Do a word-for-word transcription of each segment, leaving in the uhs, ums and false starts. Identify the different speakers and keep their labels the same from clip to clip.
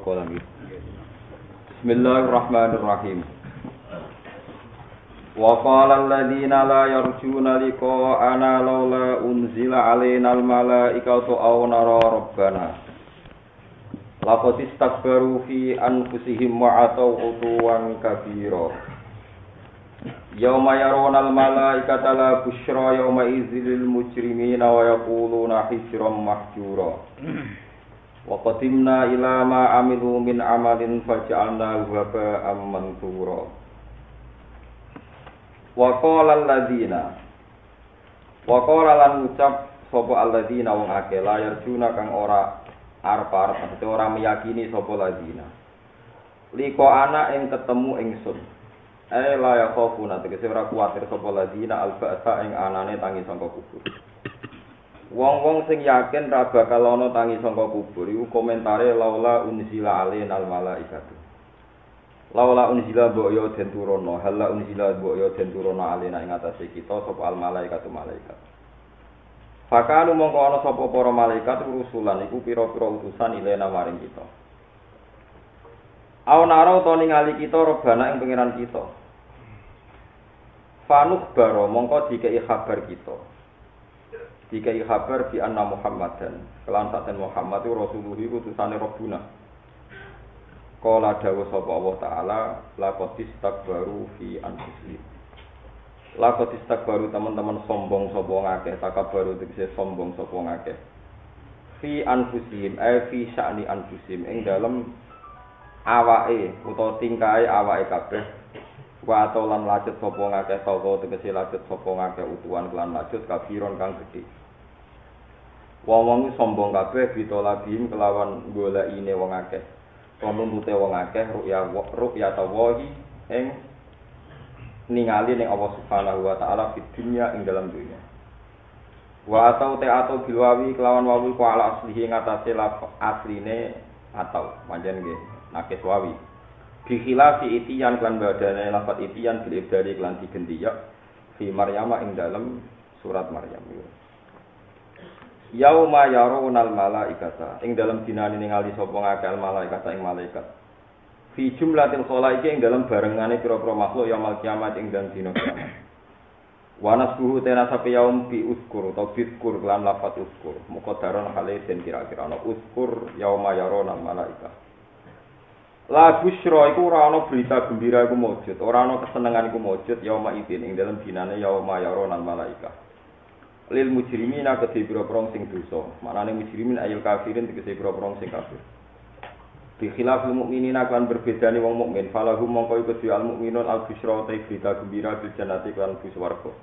Speaker 1: qalam. Bismillahirrahmanirrahim. Wa qala alladziina la yarjuna liqa'ana laula unzila 'alainal malaa'ikatu aw nara rabbana. Laqad istakbaru fi anfusihim wa 'ataw 'utuwan kabira. Yauma yarawna al-malaa'ikata la busyra yauma idzil mujrimina wa yaquluna hijran mahjura. Wa qadimna ila ma 'amilu min 'amalin faj'alnahu haba'an manthura. Wa qala alladziina wa qala lan ngucap sapa alladziina wong akeh la yarjuna kang ora arep-arep maksudé ora meyakini sapa alladziina. Liko ana ing ketemu ingsun. Eh la yakhafuna tegese ora kuwatir sapa ladina al-ba'sa ing anane tangi sangka kubur. Wong-wong sing yakin ra bakal ana tangi sangka kubur iku komentare laula unzila alainal malaikatu. Laula unzila mbok yo den turono, halla unzila mbok yo den turono alaina ing atase kita sapa al malaikatu malaikat. Fakanu mongko ana sapa para malaikat rusulan iku pira-pira utusan ilena maring kita. Aw naro to ningali kita robana ing pangeran kita. Fanuk baro mongko dikei kabar kita. Dikei kabar bi anna Muhammadan. Kelan saten Muhammad itu rasulullah utusane Rabbuna. Qala dawuh sapa Allah taala laqad istakbaru fi anfusihim. Laqad istakbaru teman-teman sombong sapa ngakeh, takabbaru tegese sombong sapa ngakeh. Fi anfusihim ay fi sya'ni anfusihim ing dalem awake utawa tingkahe awake kabeh. Wa atolan lajut sapa ngakeh sapa tegese lajut sapa ngakeh utuhan kelan lajut kabiron kang gedhe. Wong-wong sombong kabeh bitolabim kelawan golekine wong akeh. Nuntute wong akeh ru'ya ru'ya tawahi ing ningali ning Allah Subhanahu wa taala fid dunya ing dalam dunya. Wa atau te atau bilwawi kelawan wawi ku ala aslihi ngatasé asline atau panjen nggih nakis wawi. Bi khilafi itiyan kan badane lafat itiyan bil ibdali lan digenti ya fi Maryam ing dalam surat Maryam. Yauma yarawunal malaikata ing dalam dinane ningali sapa ngakeh malaikata ing malaikat. Fi jumlatil khalaiqi ing dalam barengane pira-pira makhluk yaumul kiamat ing dalam dina kiamat. Wa nasbuhu tena sapi yaum bi uskur atau bizkur lan lafat uskur. Muqaddaran hale den kira-kira ana uskur yauma yarawunal malaikata. La busyra iku ora ana berita gembira iku mujud, ora ana kesenengan iku mujud yauma idin ing dalam dinane yauma yarawunal malaikata. Lil mujrimina kedhe pira-pira sing dosa. Manane mujrimin ayil kafirin tegese pira-pira sing kafir. Bi khilafil mukminina kan berbedane wong mukmin, falahum mongko iku al mukminun al busyra ta berita gembira bil jannati kan bus warga.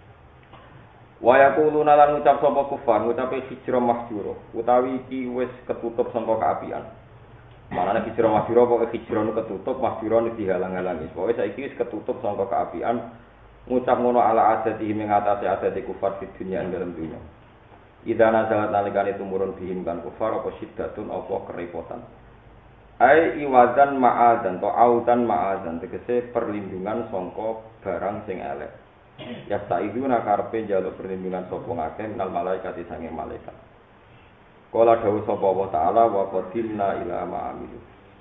Speaker 1: Wa yaquluna lan ngucap sapa kufar, ngucape hijra mahjura, utawi iki wis ketutup sangka kaapian. Manane hijra mahjura pokoke hijra nu ketutup, mahjura nu dihalang-halangi. Pokoke saiki wis ketutup sangka kaapian. Ngucap ngono ala adati ing atase adati kufar di dunia ing dalam dunia. Idza nazalat nalikane tumurun bihim kan kufar apa syiddatun apa kerepotan. Ai iwadan ma'adan to audan ma'adan tegese perlindungan sangka barang sing elek. Ya saiduna karepe njaluk perlindungan sapa ngakeh minal malaikat sange malaikat. Kala dawuh sapa Allah taala wa qadimna ila ma'amilu.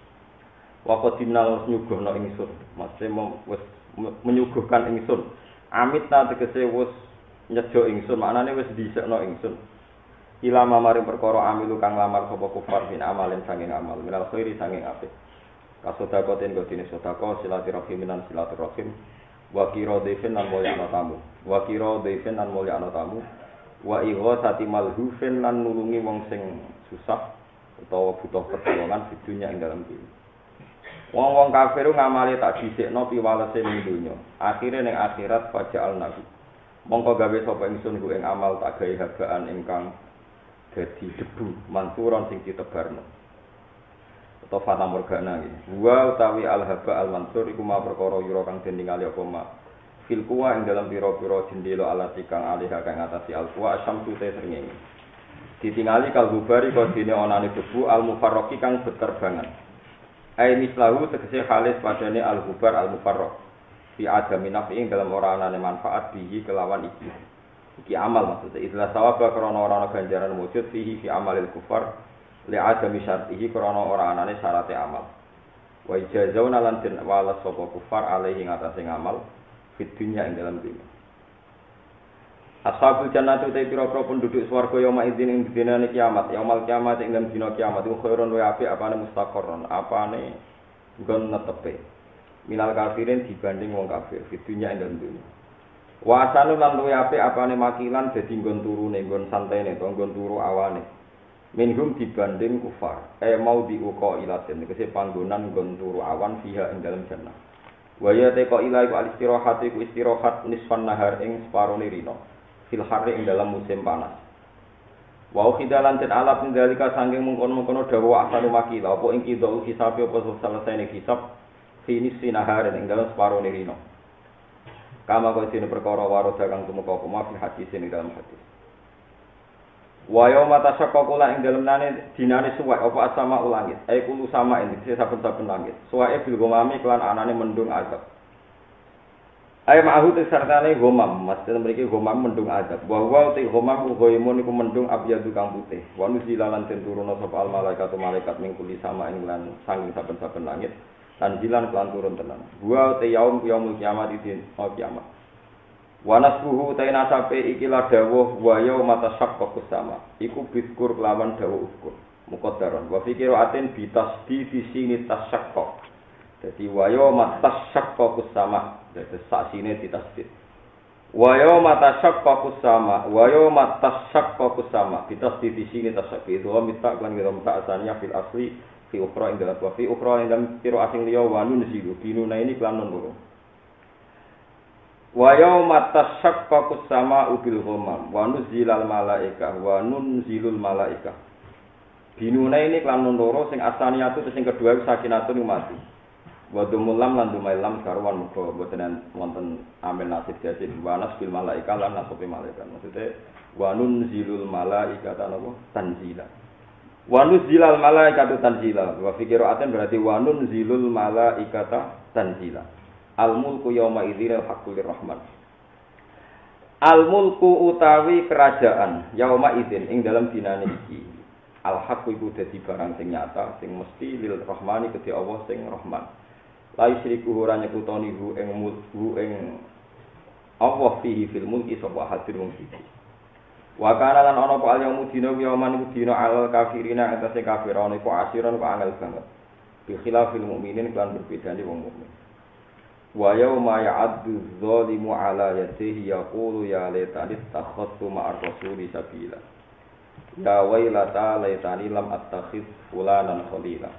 Speaker 1: Wa qadimna nyuguhna ingsun, maksude wis menyuguhkan ingsun. Amit ta tegese wis nyejo ingsun, maknane wis dhisikno ingsun. Ila maring perkara amilu kang lamar sapa kufar bin amalin sanging amal, minal khairi sanging apik. Kasodakoten godine sedekah silaturahim minan silaturahim. Wa kira defen lan mulyana tamu. Wa kira defen lan mulyana tamu. Wa ighatsati malhufin lan nulungi wong sing susah utawa butuh pertolongan di dunya ing dalam dunya. Wong-wong kafir ngamale tak dhisikno piwalese ning donya. Akhire ning akhirat fajal nabi. Mongko gawe sapa ingsun ku ing amal tak gawe habaan ingkang dadi debu mansuron sing ditebarno. Atau fata morgana iki. Wa utawi al-haba al-mansur iku ma perkara yura kang den ningali apa ma. Fil kuwa ing dalam pira-pira jendela alati kang alih kang ngatasi al-kuwa asyamsu te srengenge. Ditingali kalbubari kok dene onane debu al-mufarraqi kang beterbangan. Ai mislahu tegese halis padane al-hubar al-mufarraq fi adami nafi'in dalam ora anane manfaat bihi kelawan iki. Iki amal maksudnya istilah sawaba krana ora ana ganjaran wujud fihi fi amalil kufar li adami syartihi krana ora anane syarate amal. Wa ijazauna lan den walas sapa kufar alaihi ngatasé ngamal fit dunya ing dalam dunya. Ashabul jannati te pira-pira penduduk swarga yauma idzin ing dinane kiamat, yaumul kiamat ing dalam dina kiamat iku khairun wa apik apane mustaqarron, apane nggon netepe. Minal kafirin dibanding wong kafir fit dunya ing dalam dunya. Wa asanu lan luwe apik apane makilan dadi nggon turune nggon santene to nggon turu awane. Minhum dibanding kufar. E mau diuko ilatin kese panggonan nggon turu awan fiha ing dalam jannah. Wa ya te ko ila iku al-istirahat iku istirahat nisfan nahar ing separone rino. Fil harri ing dalam musim panas. Wa khidalan ten alap ndalika saking mungkon-mungkon dawa asanu makila apa ing kidau hisab apa selesai hisab finis sinahar ing dalam separone rino. Kama kok sine perkara waro dagang tumeka apa fi hadis ing dalam hadis. Wa yauma tashaqqaqu la ing dalam nane dinane suwek apa asama ulangit. Ai kulu sama ing saben-saben langit. Suweke bil gomami kelan anane mendung azab. Ai ma'ahu sertane gomam, maksud mriki gomam mendung azab. Wa wa te gomam goimun iku mendung abyadu kang putih. Wa nuzilalan den turuna sapa al malaikatu malaikat ning kuli sama ing lan sanging saben-saben langit. Tanjilan kelan turun tenan. Wa te yaum yaumul kiamat idin oh kiamat. Wa nasbuhu ta nasabe iki la dawuh wa yauma tashaqqaqus sama. Iku bitkur kelawan dawuh ukur. Muqaddaron wa fikiratin bitasdi fi sini tashaqqaq. Dadi wa yauma tashaqqaqus sama. Dadi saksine ditasdid. Wa yauma tashaqqaqus sama wa yauma tashaqqaqus sama. Ditasdid di sini tashaqqaq. Wa mitak lan ngira mitak asaniya fil asli fi ukhra ing dalam fi ukhra ing dalam piro asing liya wa nun zilu binuna ini kelan nun loro. Wa yauma tashaqqaqus sama'u bil ghamam wa nuzilal malaika wa nunzilul malaika. Binuna ini kelan nun loro sing asaniyatu sing kedua sakinatun mati. Wa dumulam lan dumailam karuan muga boten wonten amil nasib jasib wa nasbil malaika lan nasbi malaikat. Maksude wa nunzilul malaika tanapa tanzila. Wa nuzilal malaikatu tanzila. Wa fi qira'atin berarti wa nunzilul malaikata tanzila. Al mulku yauma idzil haqqul rahman. Al mulku utawi kerajaan yauma idzin ing dalam dinane iki. Al haqqu iku dadi barang sing nyata sing mesti lil rahmani kedhe Allah sing rahman. La yusriku ora nyekutoni hu ing mulku ing Allah fihi fil mulki sapa hadir wong iki. Wa kana lan ana apa al-yaumu dina yauman iku dina al kafirina atase kafirane iku asiran kok angel banget. Bi khilafil mukminin kan berbedane wong mukmin. Wa yauma ya'addu dzalimu ala yadihi yaqulu ya laitani takhassu ma'ar rasuli sabila. Ya wailata laitani lam attakhidh fulanan khalila.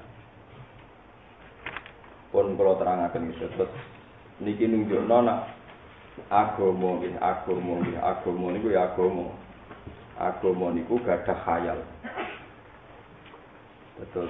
Speaker 1: Pun kula terangaken iki terus niki nunjukno nak agama nggih agama nggih agama niku ya agama. Agama niku gadah khayal. Betul.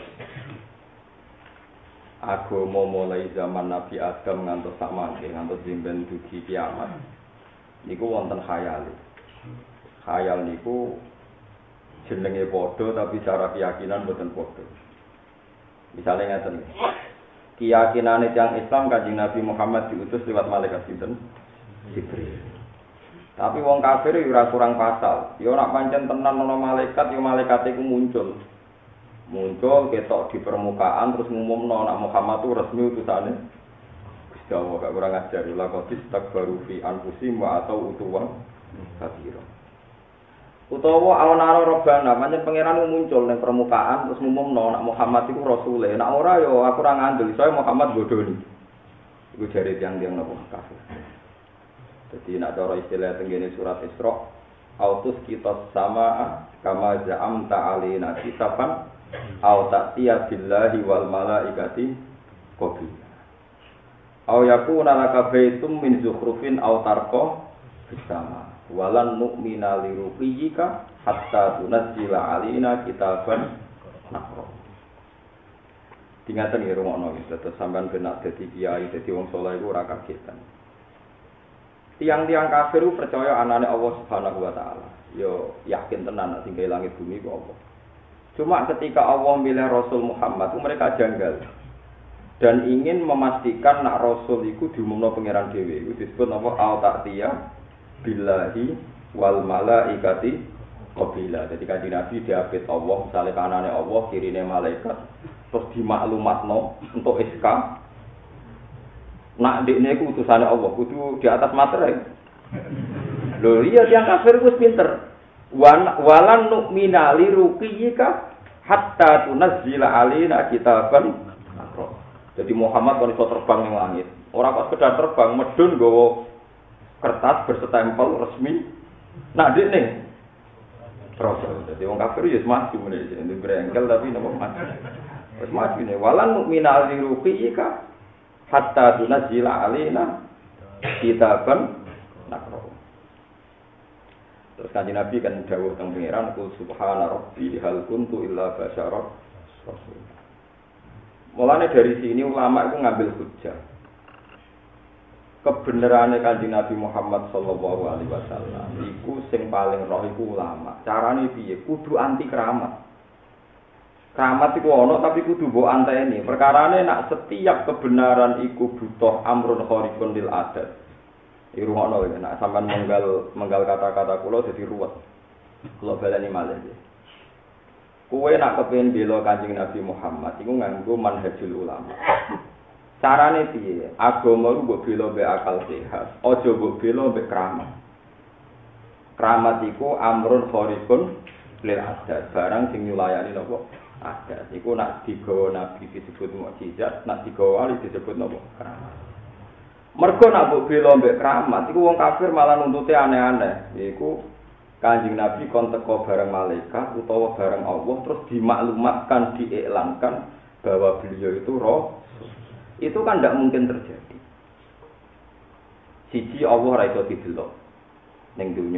Speaker 1: Agama mulai zaman Nabi Adam ngantos sak mangke ngantos dimben dugi kiamat. Niku wonten khayal. Khayal niku jenenge padha tapi cara keyakinan mboten padha. Misale ngaten. Keyakinane tiyang Islam Kanjeng Nabi Muhammad diutus lewat malaikat sinten? Jibril. Tapi wong kafir yo ora kurang pasal. Yo nek pancen tenan ana malaikat yo malaikate iku muncul. Muncul ketok di permukaan terus ngumumno nek Muhammad itu resmi utusane. Gusti Allah gak kurang ajar la qadis takbaru fi anfusihim wa atau utuwan kabira. Utawa awana robbana pancen pangeran muncul ning permukaan terus ngumumno nek Muhammad iku rasule. Nek ora yo aku ora ngandel, saya Muhammad bodoni. Iku jare tiyang-tiyang napa kafir. Jadi nak cara istilah tenggene surat Isra, autus kita sama kama ja'am ta'alina kitaban au ta'tiya billahi wal malaikati qabil. Au yakuna laka baitum min zukhrufin au tarqa fis sama. Walan nu'mina li ruqiyika hatta tunazzila alina kitaban naqra. Tingatan ya rumono gitu, terus sampean benak dadi kiai, dadi wong saleh iku ora kagetan. Tiang-tiang kafir itu percaya anane Allah Subhanahu wa taala. Yo yakin tenan nek tinggal langit bumi ku apa. Cuma ketika Allah milih Rasul Muhammad, mereka janggal. Dan ingin memastikan nak Rasul iku diumumno pangeran dhewe. Iku disebut apa al-ta'tiyah billahi wal malaikati Qabila. Jadi kanjeng Nabi diapit Allah, misalnya kanane Allah, kirine malaikat, terus dimaklumatno untuk S K. Nak dekne iku utusane Allah, kudu di atas materai. Lho iya yang kafir wis pinter. Walan nu'mina li ruqiyika hatta tunazzila alaina kitaban nakra. Jadi Muhammad kon iso terbang ning langit. Ora kok sekedar terbang, medun nggawa kertas berstempel resmi. Nak dekne Rasul. Jadi wong kafir ya maju ngene iki, ndek brengkel tapi napa maju. Wis maju ne walan mukmina liruqika hatta tunzila alaina kitaban nakro. Terus kanjeng Nabi kan dawuh teng pangeran ku subhana rabbi hal kuntu illa basyara rasul. Mulane dari sini ulama itu ngambil hujjah. Kebenarannya kanjeng Nabi Muhammad sallallahu alaihi wasallam iku sing paling roh iku ulama. Carane piye? Kudu anti keramat. Keramat iku ana tapi kudu mbok anteni. Perkarane nak setiap kebenaran iku butuh amrun khariqun lil adat. Iki rumono iki nak sampean menggal menggal kata-kata kula dadi ruwet. Kula baleni malih. Kowe nak kepengin bela kanjeng Nabi Muhammad iku nganggo manhajul ulama. Carane piye? Agama ku mbok bela mbek akal sehat, aja mbok bela mbek keramat. Keramat iku amrun khariqun lil adat, barang sing nyulayani napa? Adat. Iku nak digawa nabi disebut mukjizat, nak digawa wali disebut napa? Keramat. Mergo nak mbok bela mbek keramat iku wong kafir malah nuntute aneh-aneh. Iku Kanjeng Nabi kon teko bareng malaikat utawa bareng Allah terus dimaklumatkan, diiklankan bahwa beliau itu roh. Itu kan tidak mungkin terjadi. Siji Allah ora iso didelok ning dunya.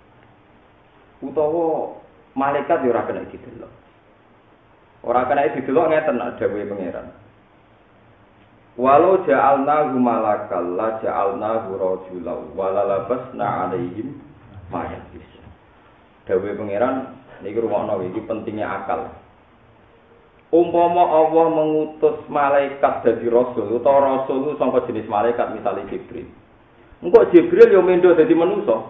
Speaker 1: Utawa malaikat yo ora kena didelok. Ora kena didelok ngeten nek dawuhe pangeran. Walau ja'alnahu malakal la ja'alnahu rajulan wala labasna 'alaihim ma yalbis. Dawuhe pangeran niki rumakno iki pentingnya akal. Umpama Allah mengutus malaikat dadi rasul utawa rasul itu sangka jenis malaikat misalnya Jibril. Engko Jibril yo mendo dadi manusa.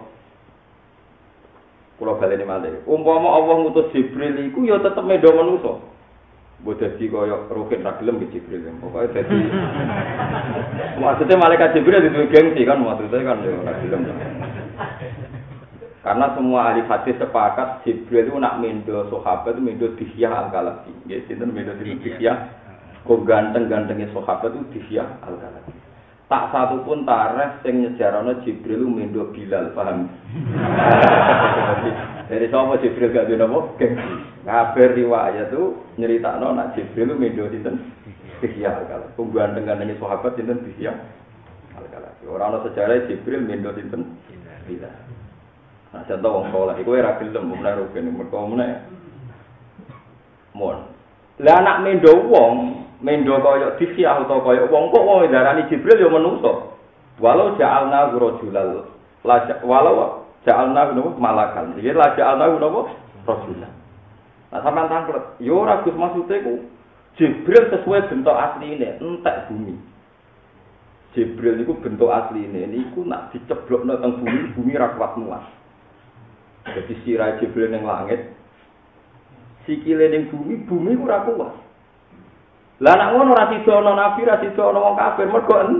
Speaker 1: Kula baleni malih. Umpama Allah ngutus Jibril iku yo tetep mendo manusa. Mbok dadi kaya roket ra gelem ke Jibril. Pokoke dadi maksudnya malaikat Jibril itu gengsi kan maksudnya kan yo ra gelem. Karena semua ahli hadis sepakat Jibril itu nak mendo sahabat itu mendo Dihyah Al-Kalabi. Nggih, sinten mendo Dihyah? Kok ganteng-gantenge sahabat itu Dihyah Al-Kalabi. Tak satu pun tarikh sing nyejarana Jibril mendo Bilal, paham? Dari sapa Jibril gak dene apa? Kabar riwayat itu nyeritakno nak Jibril mendo sinten? Dihyah Al-Kalabi. Kok ganteng-gantenge sahabat sinten Dihyah Al-Kalabi. Ora ana sejarah Jibril mendo sinten? Bilal. Nah, contoh wong saleh iku ora gelem mulai rugen mergo meneh. Mon. Lah anak mendo wong, mendo kaya Dihyah utawa kaya wong kok wong darani Jibril ya manusa. Walau ja'alna rajulal la walau ja'alna malakan. Iki la ja'alna napa? Rajulan. Nah, sampean tanglet, yo ora Gus maksude ku Jibril sesuai bentuk asline, entek bumi. Jibril niku bentuk asline niku nak diceblokno teng bumi, bumi ra kuat muat. Jadi sirah Jibril ning langit, sikile ning bumi, bumi ora kuat. Lah nek ngono ora sida ana nabi, ora sida ana wong kafir, mergo en.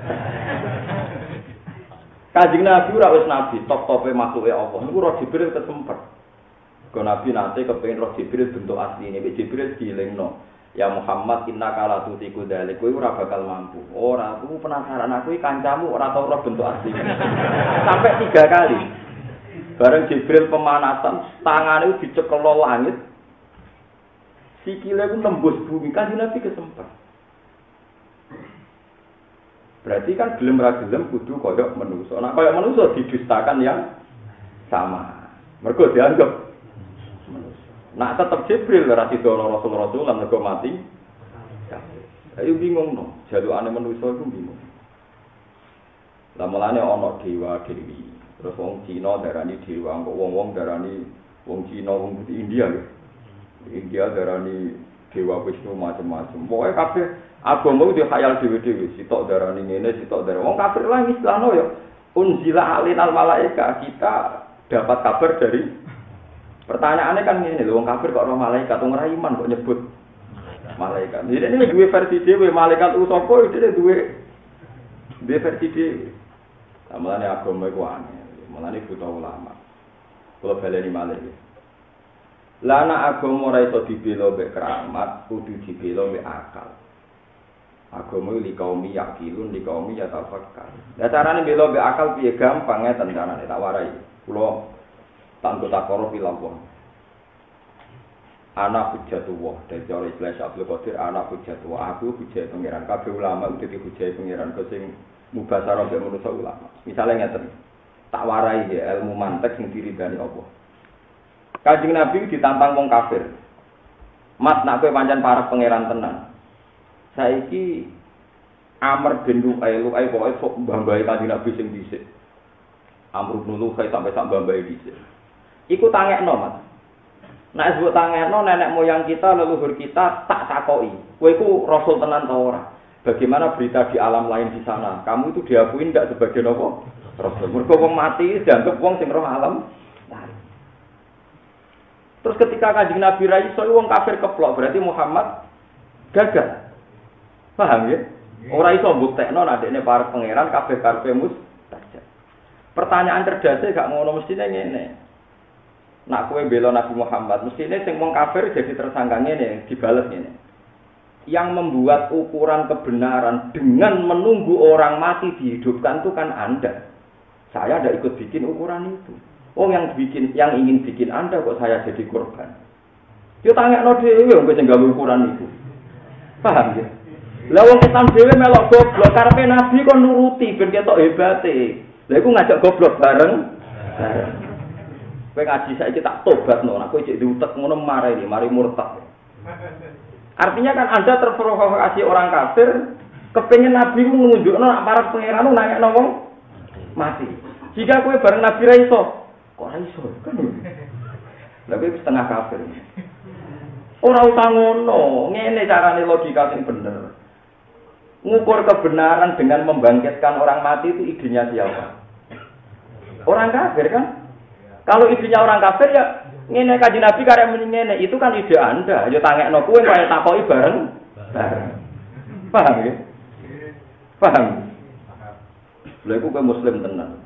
Speaker 1: Kanjeng Nabi ora wis nabi, top-tope makhluke Allah. Niku roh Jibril kesemper. Kok nabi nate kepengin roh Jibril bentuk asline, nek Jibril dilingno. Ya Muhammad innaka la tutiku dzalik, kowe ora bakal mampu. Ora, aku penasaran aku iki kancamu ora tau roh bentuk asline. Sampai tiga kali. Bareng Jibril pemanasan, tangannya itu dicekel langit, sikile itu nembus bumi, kan Nabi kesempat. Berarti kan gelem ra gelem kudu koyok manusa. Nah koyok manusa didustakan yang sama. Mergo dianggap manusa. Nah tetep Jibril ra sida rasul-rasul lan mergo mati. Ayo bingung no, jalukane manusa iku bingung. Lah mulane ana dewa dewi. Terus wong Cina darani dewa, kok wong-wong darani wong Cina, wong India lho. India darani dewa Wisnu macam-macam. Pokoke kabeh agama ku khayal dhewe-dhewe, sitok darani ngene, sitok darani. Wong kafir lah istilahno ya unzila alinal malaika, kita dapat kabar dari Pertanyaannya kan ini, lho wong kafir kok ora malaikat, wong ora iman kok nyebut malaikat. Jadi ini dua versi dhewe, malaikat ku sapa iki duwe duwe versi dhewe. Mulane agama iku aneh, mulane butuh ulama. Kula baleni malih. Lah nek agama ora iso dibela mek keramat, kudu dibela mek akal. Agama iki kaum yakilun, di kaum ya tafakkar. Lah carane bela mek akal piye gampang ngeten carane tak warai. Kula tanggo takoro pilawon. Anak hujatullah dari cara istilah Abdul Qadir anak hujatullah aku hujai pangeran kabeh ulama udah di hujai pangeran kok sing mubasarah be manusa ulama misale ngeten tak warai ya ilmu mantek sing diridani Allah Kanjeng Nabi ditantang wong kafir mat nak kowe pancen parek pangeran tenan saiki Amr bin Lu'ay Lu'ay pokoke sok mbambahi Kanjeng Nabi sing dhisik Amr bin Lu'ay sampai sak mbambahi dhisik iku tangekno mat. Nek sebut tangekno nenek moyang kita, leluhur kita tak takoki. Kowe iku rasul tenan ta ora? Bagaimana berita di alam lain di sana? Kamu itu diakui ndak sebagai apa? Rasul. Mergo wong mati dianggap wong sing roh alam lain. Terus ketika Kanjeng Nabi ra iso wong kafir keplok, berarti Muhammad gagal. Paham ya? Ora iso mbuktekno nek dekne para pangeran kabeh karepe mustajab. Pertanyaan cerdasé gak ngono mestine ngene. Nak kowe bela Nabi Muhammad, mestine sing wong kafir jadi tersangka ngene, dibales ngene. Yang membuat ukuran kebenaran dengan menunggu orang mati dihidupkan itu kan Anda. Saya tidak ikut bikin ukuran itu. Oh yang bikin, yang ingin bikin Anda kok saya jadi korban. Yo tangekno dhewe wong sing gawe ukuran itu. Paham ya? Lah wong Islam dhewe melok goblok karepe Nabi kon nuruti ben ketok hebate. Lah iku ngajak goblok bareng. Bareng. Kowe ngaji saiki tak tobatno, nek kowe cek diutek ngono mari mari murtad. Artinya kan Anda terprovokasi orang kafir, kepengin Nabi ku nunjukno nek para pangeran nangekno wong mati. Jika kowe bareng Nabi ra iso, kok ra iso kan? Lah kowe setengah kafir. Ora usah ngono, ngene carane logika sing bener. Ngukur kebenaran dengan membangkitkan orang mati itu idenya siapa? Orang kafir kan? Kalau idenya orang kafir ya ngene Kanjeng Nabi karek muni ngene, itu kan ide Anda. Ya tangekno kuwe kaya takoki bareng. Bareng. Paham ya? Paham. Lha iku kowe muslim tenan.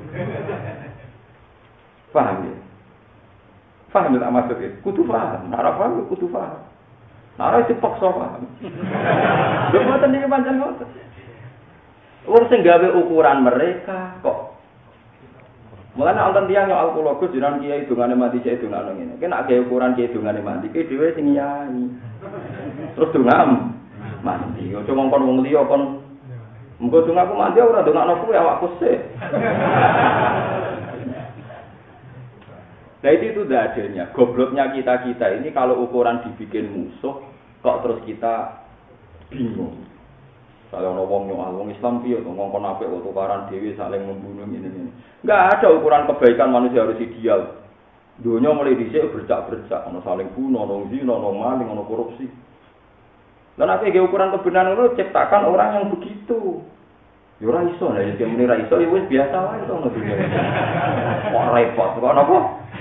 Speaker 1: Paham ya? Paham tak maksudnya? Kudu paham. Ora paham kudu paham. Ora dipaksa paham. Lha mboten iki pancen ngoten. Wong sing gawe ukuran mereka kok mulane wonten tiyang yo alkologus jenengan kiai dongane mati cek dongane ngene. Kena gawe ukuran kiai dongane mati, ki dhewe sing nyai. Terus dongam mati. Ojo ngongkon wong liya kon mengko dongaku mati ora dongakno kuwi awakku sik. Nah itu itu adanya. Gobloknya kita-kita ini kalau ukuran dibikin musuh kok terus kita bingung. Kalau ono wong nyuwal wong Islam piye to ngongkon apik kok tukaran dhewe saling membunuh ngene-ngene. Enggak ada ukuran kebaikan manusia harus ideal. Dunia mulai dhisik bercak-bercak, ono saling bunuh, ono zina, ono maling, ono korupsi. Lan nek iki ukuran kebenaran itu ciptakan orang yang begitu. Ya ora iso, nek iki muni ra iso ya wis biasa wae to ono dunia. Kok repot, kok napa?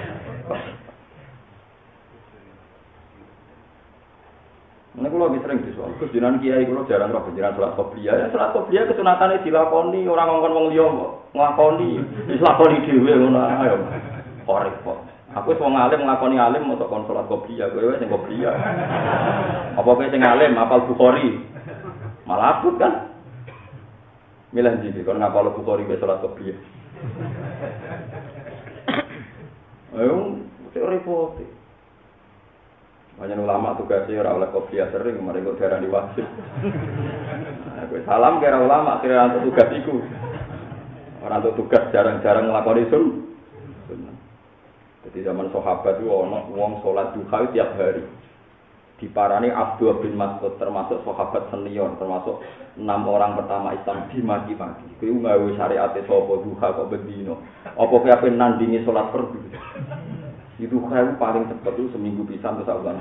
Speaker 1: Nek kula wis sering disoal, Gus jenengan kiai kula jarang roh jenengan salat qobliyah. Ya salat qobliyah kesunatane dilakoni, ora ngongkon wong liya kok nglakoni. Wis lakoni dhewe ngono ae. Kok repot. Aku wis wong alim nglakoni alim mosok kon salat qobliyah, kowe sing qobliyah. Apa kowe sing alim hafal Bukhari? Malah abot kan. Milih ndi kon ngapal Bukhari ke salat qobliyah. Ayo, sik repot. Banyak ulama tugasnya ora oleh kopiah sering, mari kok darah diwajib. Nah, salam kira ulama kira untuk tugas iku. Orang untuk tugas jarang-jarang nglakoni sun. Jadi zaman sahabat itu ono wong salat duha tiap hari. Diparani Abdullah bin Mas'ud termasuk sahabat senior, termasuk enam orang pertama Islam dimaki-maki. Kuwi gawe syariat sapa duha kok bendino. Apa kowe ape nandingi salat fardu? Itu kan paling cepat itu seminggu bisa untuk saulan.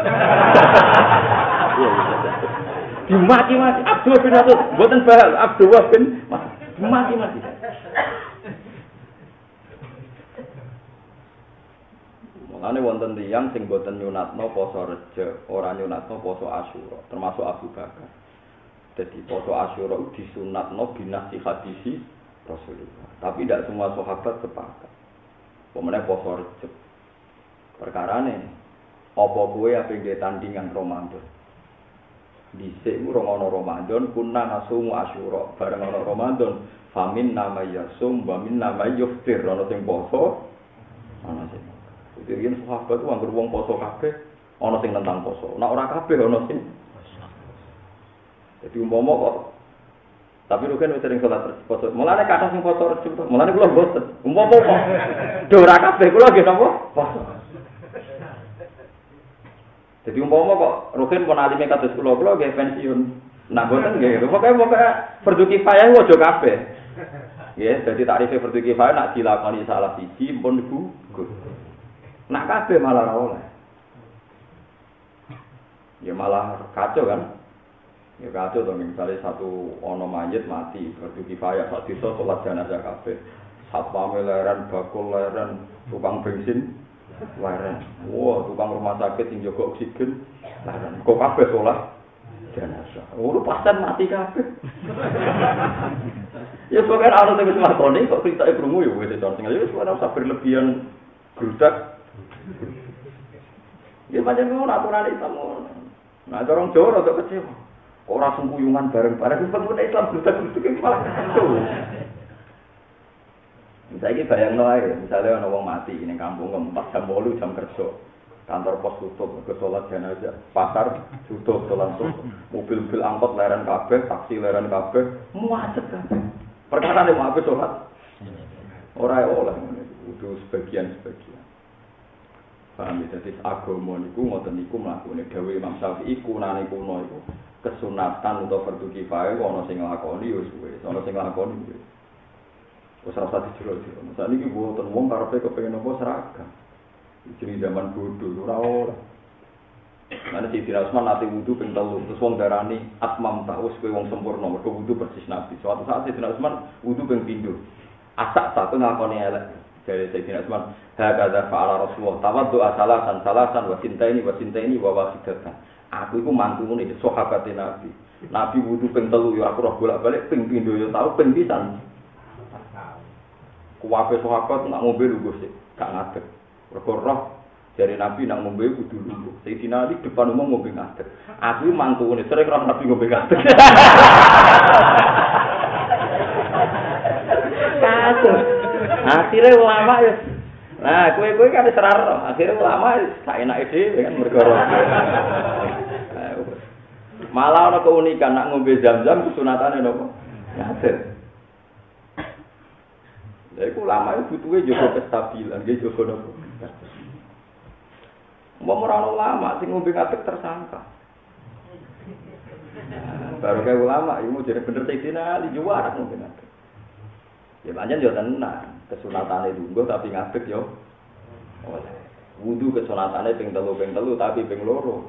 Speaker 1: Dimati-mati Abdullah bin Mas'ud, mboten bahal Abdullah bin Mas'ud mati-mati. Mulane wonten tiyang sing boten nyunatno poso Rejab, ora nyunatno poso Asyura, termasuk Abu Bakar. Jadi poso Asyura disunatno binasi hadisi Rasulullah. Tapi tidak semua sahabat sepakat. Pemenang poso Rejab. Perkarane apa kowe ape nggih tandingan Ramadan? Dhisik ku ana Ramadan kunna nasumu Asyura, bareng ana Ramadan famin nama yasum wa min nama yuftir, ana sing poso, ana sing. Jadi yen sahabat ku anggere wong poso kabeh, ana sing nentang poso. Nek ora kabeh ana sing poso. Jadi umpama kok tapi lu kan wis sering salat poso. Mulane kathah sing poso Rejab, mulane kula mboten. Umpama kok do ora kabeh kula nggih napa? Poso. Jadi umpama kok Rukin pun alime kados kula kula nggih pensiun. Nah boten nggih. Pokoke pokoke fardhu kifayah aja kabeh. Nggih, dadi takrife fardhu kifayah nak dilakoni salah siji pun gugur. Nak kabeh malah ora oleh. Ya malah kacau kan. Ya kacau to misalnya satu ono mayit mati fardhu kifayah sak desa salat jenazah kabeh. Satpam leren, bakul leren, tukang bensin leren. Wah, tukang rumah sakit sing jaga oksigen leren. Kok kabeh salat jenazah. Ora pasien mati kabeh. Ya pokoke ana sing wis lakoni kok critake krungu ya wis to sing wis ora usah berlebihan grudak. Ya pancen ngono aturan Islam ngono. Nah, orang Jawa rada kecewa. Ora sengkuyungan bareng-bareng pengen Islam grudak-grudak malah kacau. Saiki bayangno ae, misale ana wong mati ning kampung empat jam wolu jam kerja. Kantor pos tutup, ke salat jenazah, pasar tutup, langsung mobil-mobil angkot leren kabeh, taksi leren kabeh, muacet kabeh. Perkara nek mau salat ora oleh kudu sebagian-sebagian. Paham ya, dadi agama niku ngoten niku mlakune dawuh Imam Syafi'i kunane kuno iku kesunatan utawa fardhu kifayah ana sing nglakoni ya suwe, ana sing nglakoni ya. Wis ora usah dijero-jero. Saniki mboten wong karepe kepengin apa seragam. Jadi zaman bodoh ora ora. Mane Sayyidina Utsman nate wudu ping telu, terus wong darani atmam ta wis kowe wong sempurna, mergo wudu persis Nabi. Suatu saat Sayyidina Utsman wudu ping pindho. Asak satu ngakoni elek. Dari Sayyidina Utsman, hakadza fa'ala Rasulullah, tawaddu asalasan salasan wa sintaini wa sintaini wa wasidatan. Aku iku mantune sahabate Nabi. Nabi wudu ping telu ya aku roh bolak-balik ping pindho ya tau ping pisan. Kuwabe sahabat nak ngombe lungguh sik, gak ngadeg. Mergo roh dari Nabi nak ngombe kudu lungguh. Sayyidina Ali depan umum ngombe ngadeg. Aku mantune sering roh Nabi ngombe ngadeg. Kasus. Akhirnya ulama ya. Nah, kowe-kowe kan wis ora akhirnya ulama gak enake dhewe kan mergo roh. Malah ana keunikan nak ngombe Zam-Zam kesunatane napa? Ngadeg. Lha iku ulama itu butuhe jaga kestabilan, nggih jaga napa. Wong ora ulama sing ngombe ngadeg tersangka. Baru kayak ulama iku jadi bener Sayyidina Ali juara ngombe ngadeg. Ya pancen yo tenan, kesunatane lungguh tapi ngadeg yo. Oleh. Wudu kesunatane ping telu ping telu tapi ping loro.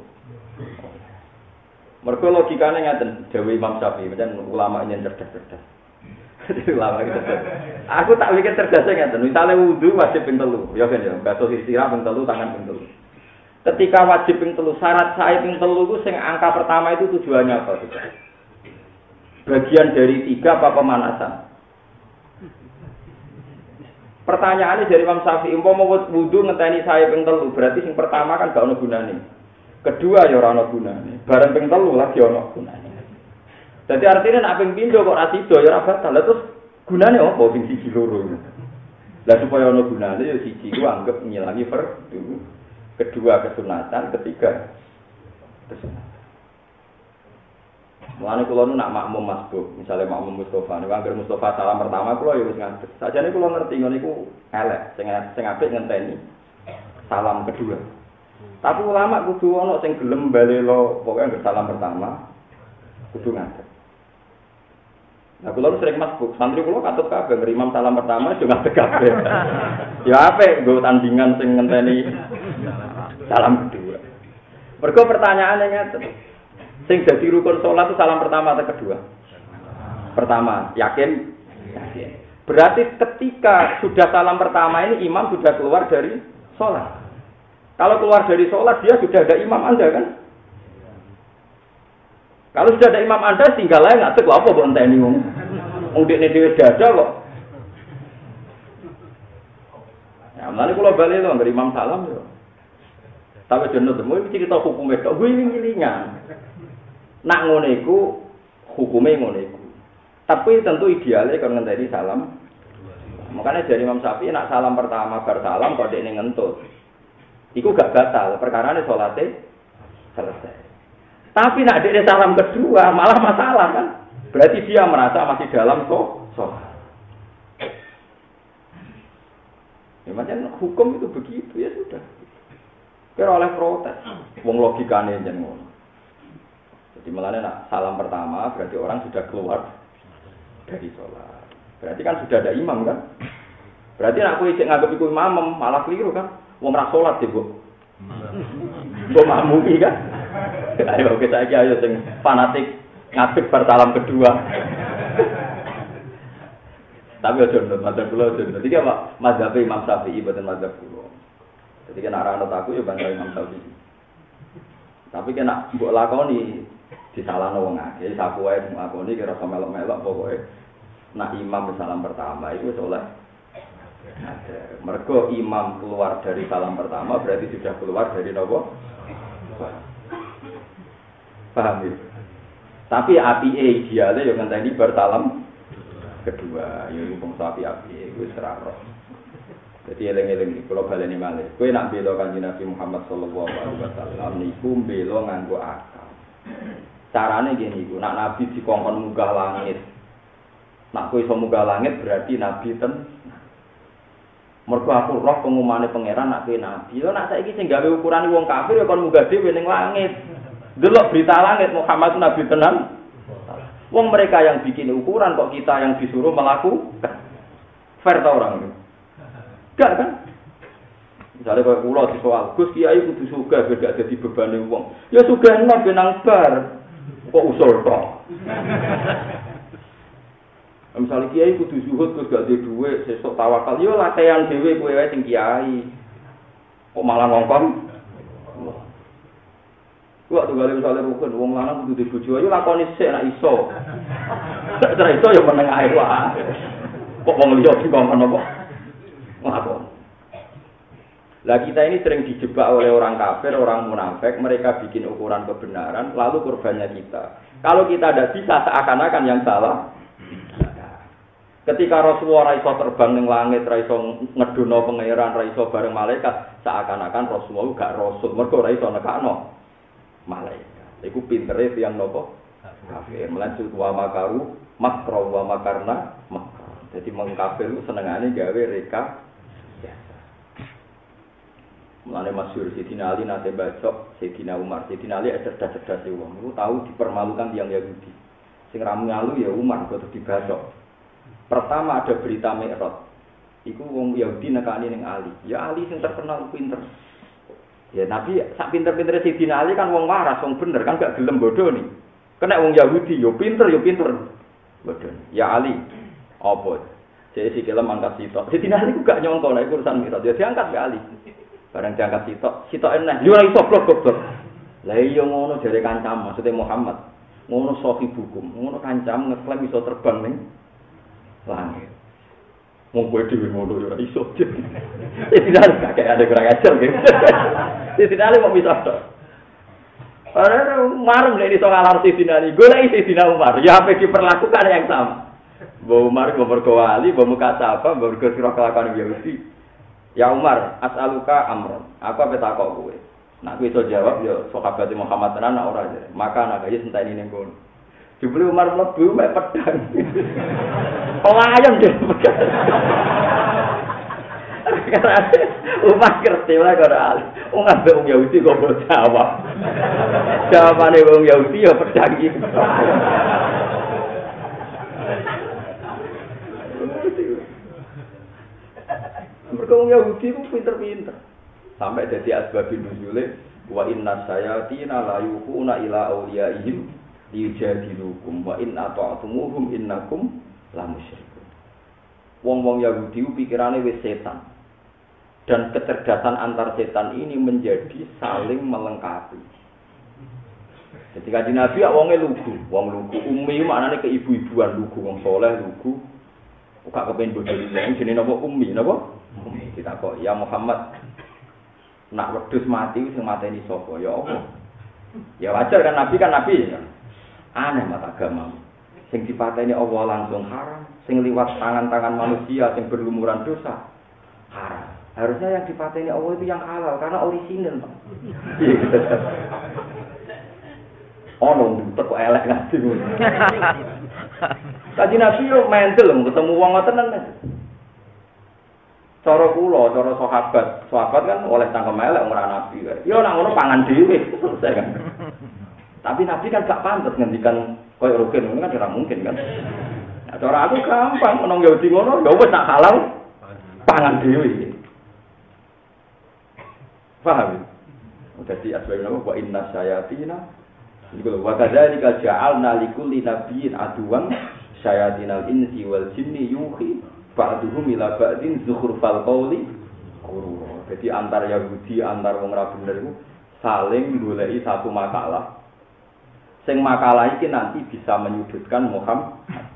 Speaker 1: Mergo logikane ngaten, dawuh Imam Syafi'i, pancen ulama ini cerdas-cerdas. Ulama iki cerdas. Aku tak pikir cerdasnya ngaten, misale wudu wajib ping telu, ya kan ya, basuh istirahat ping telu, tangan ping telu. Ketika wajib ping telu, syarat sae ping telu itu sing angka pertama itu tujuannya apa? Bagian dari tiga apa pemanasan? Pertanyaannya dari Imam Syafi'i, umpama wudu ngenteni sae ping telu, berarti sing pertama kan gak ono gunane. Kedua ya ora ono gunane. Bareng ping telu lagi ono gunane. Dadi artine nek ping pindho kok ora sida ya ora batal. Lah terus gunane opo ping siji loro? Lah supaya ono gunane ya siji ku anggap ngilangi fardhu. Kedua kesunatan, ketiga kesunatan. Mulane kula nu nak makmum masbuk, misale makmum Mustofa, nek anggere Mustofa salam pertama kula ya wis ngadeg. Sajane kula ngerti ngono iku elek, sing sing apik ngenteni salam kedua. Tapi ulama kudu ana sing gelem balelo pokoke anggere salam pertama kudu ngadeg. Nah, kula sering masbuk, santri kula katut kabeh ngrimam salam pertama yo ngadeg kabeh. Ya apik nggo tandingan sing ngenteni salam kedua. Mergo pertanyaane ngeten. Sing dadi rukun salat itu salam pertama atau kedua? Pertama, yakin? Yakin. Berarti ketika sudah salam pertama ini imam sudah keluar dari salat. Kalau keluar dari sholat dia sudah ada imam Anda kan? Kalau sudah ada imam Anda tinggal aja nggak tahu apa buat enteni wong. Wong dekne dhewe dada kok. Ya, mulane kula bali lho ngger imam salam yo. Tapi jeneng temu iki cerita hukume tok wiling-wilingan. Nak ngono iku hukume ngono iku. Tapi tentu idealnya kan ngenteni salam. Makanya dari Imam Syafi'i nak salam pertama bar salam kok dekne ngentut. Iku gak batal, perkarane salate selesai. Tapi nak dekne salam kedua malah masalah kan? Berarti dia merasa masih dalam sholat. Ya macam hukum itu begitu ya sudah. Kira oleh protes. Wong logikane jen ngono. Jadi melane nak salam pertama berarti orang sudah keluar dari sholat. Berarti kan sudah ada imam kan? Berarti nak kowe isih nganggep iku imam malah keliru kan? Wong ra salat sih, Bu. Mbok mamumi kan? Ayo kita iki ayo sing fanatik ngadeg bar salam kedua. Tapi aja nurut madzhab kula aja. Dadi apa? Madzhab Imam Syafi'i boten madzhab kula. Jadi kena ra anut aku ya bangga Imam Syafi'i. Tapi kena mbok lakoni disalahno wong akeh, sapu wae ngakoni kira sama melok-melok pokoke. Nah imam salam pertama itu soleh. Mergo imam keluar dari salam pertama berarti sudah keluar dari nopo? Paham ya? Tapi api idealnya yang ngenteni bersalam kedua, ya wong sapi api wis seraro. Jadi eling-eling kula baleni malih. Kowe nak bela Kanjeng Nabi Muhammad sallallahu alaihi wasallam niku bela nganggo akal. Carane ngene iku, nak Nabi dikongkon munggah langit. Nak kowe iso munggah langit berarti Nabi ten. Mergo aku roh pengumane pangeran nak kowe Nabi. Lho nak saiki sing gawe ukurane wong kafir ya kon munggah dhewe ning langit. Delok berita langit Muhammad itu Nabi tenan. Wong mereka yang bikin ukuran kok kita yang disuruh melakukan. Fair ta orang itu? Enggak kan? Misalnya kalau pulau di soal, Gus Kiai kudu sugih biar gak jadi beban wong. Ya sugih nang benang bar. Kok usul tok. Misalnya Kiai kudu zuhud Gus gak ada duit, sesuk tawakal. Yo latihan dhewe kowe wae sing Kiai. Kok malah ngongkon? Waktu kali misalnya rukun, wong lanang kudu dibojo, ayo lakoni sik nek iso. Nek ora iso ya meneng ae wae. Kok wong liya dikongkon apa? Ngakon. Lah kita ini sering dijebak oleh orang kafir, orang munafik, mereka bikin ukuran kebenaran, lalu korbannya kita. Kalau kita tidak bisa, seakan-akan yang salah. Ketika Rasulullah raiso terbang ning langit, raiso ngedono pangeran, raiso bareng malaikat, seakan-akan Rasulullah gak rasul, mergo raiso nekakno malaikat. Iku pintere tiyang napa? Kafir. Melanjut wa makaru, makra wa makarna, makra. Jadi mengkafir itu senengane gawe reka. Mulane masyhur Sayyidina Ali nate bacok Sayyidina Umar. Sayyidina Ali cerdas-cerdas wong. Iku tahu dipermalukan tiyang Yahudi. Sing ra ngalu ya Umar kok dibacok. Pertama ada berita Mi'raj. Iku wong Yahudi nekani ning Ali. Ya Ali sing terkenal pinter. Ya Nabi sak pinter-pintere Sayyidina Ali kan wong waras, wong bener kan gak gelem bodoh nih. Kena wong Yahudi yo pinter yo pinter. Bodoh. Ya Ali. Apa? Jadi si kelem angkat sitok. Sayyidina Ali ku gak nyongko nek urusan Mi'raj. Ya diangkat ke Ali. Barang diangkat sitok, sitok enak. Yo ora iso goblok. Lah iya ngono jare kancam, maksudnya Muhammad. Ngono sahibukum, ngono kancam ngeklaim iso terbang ning langit. Wong kowe dhewe ngono ora iso. Tidak ada ada kurang ajar gitu. Tidak ada mau bisa tok. Ora marem nek iso ngalar Sayyidina Ali, golek Sayyidina Umar, ya apa diperlakukan yang sama. Mbok Umar mbok mergo wali, mbok muka apa, mbok mergo sira kelakuan Yahudi. Ya Umar, as'aluka amron. Aku apa takok kowe? Nek kowe iso jawab ya sahabat Muhammad tenan ora aja. Maka nak ya senteni ning kono. Jebule Umar mlebu mek pedang. Pelayang deh pedang. Umar ngerti wae karo Ali. Wong ambek wong Yahudi kok mbok jawab. Jawabane wong Yahudi ya pedang iki. Mereka Yahudi itu pinter-pinter. Sampai jadi asbabin nuzule wa inna sayatina la yuquna ila awliyaihim liyujadilukum wa in ata'tumuhum innakum la musyrikun. Wong-wong Yahudi pikirane wis setan. Dan kecerdasan antar setan ini menjadi saling melengkapi. Jadi kaji Nabi ya wonge lugu, wong lugu ummi maknane ke ibu-ibuan lugu, wong soleh lugu. Uga kepen bodho liyane jenenge napa ummi napa? Ummi. Ditakok, "Ya Muhammad, nak wedhus mati sing mateni sapa?" Ya Allah. Ya wajar kan Nabi kan Nabi ya. Aneh mata agama. Sing dipateni Allah langsung haram, sing liwat tangan-tangan manusia sing berlumuran dosa haram. Harusnya yang dipateni Allah itu yang halal karena orisinal, Pak. Oh, nong, kok elek ngaji. Kaji Nabi yo mentel ketemu wong ngoten men. Cara kula, cara sahabat, sahabat kan oleh cangkem elek ora Nabi kae. Yo nak ngono pangan dhewe selesai kan. Tapi Nabi kan gak pantes ngendikan koyo rugen ngono kan ora mungkin kan. Nah, cara aku gampang menong Yahudi ngono, ya wis tak halal pangan dhewe. Paham? Jadi asbab nama wa inna syayatina iku wa kadzalika ja'alna likulli nabiyyin aduwan syayatinal insi wal jinni yuhi ba'duhum ila ba'din zukhrufal qawli ghurur. Jadi antar Yahudi antar wong ra bener iku saling goleki satu makalah. Sing makalah iki nanti bisa menyudutkan Muhammad.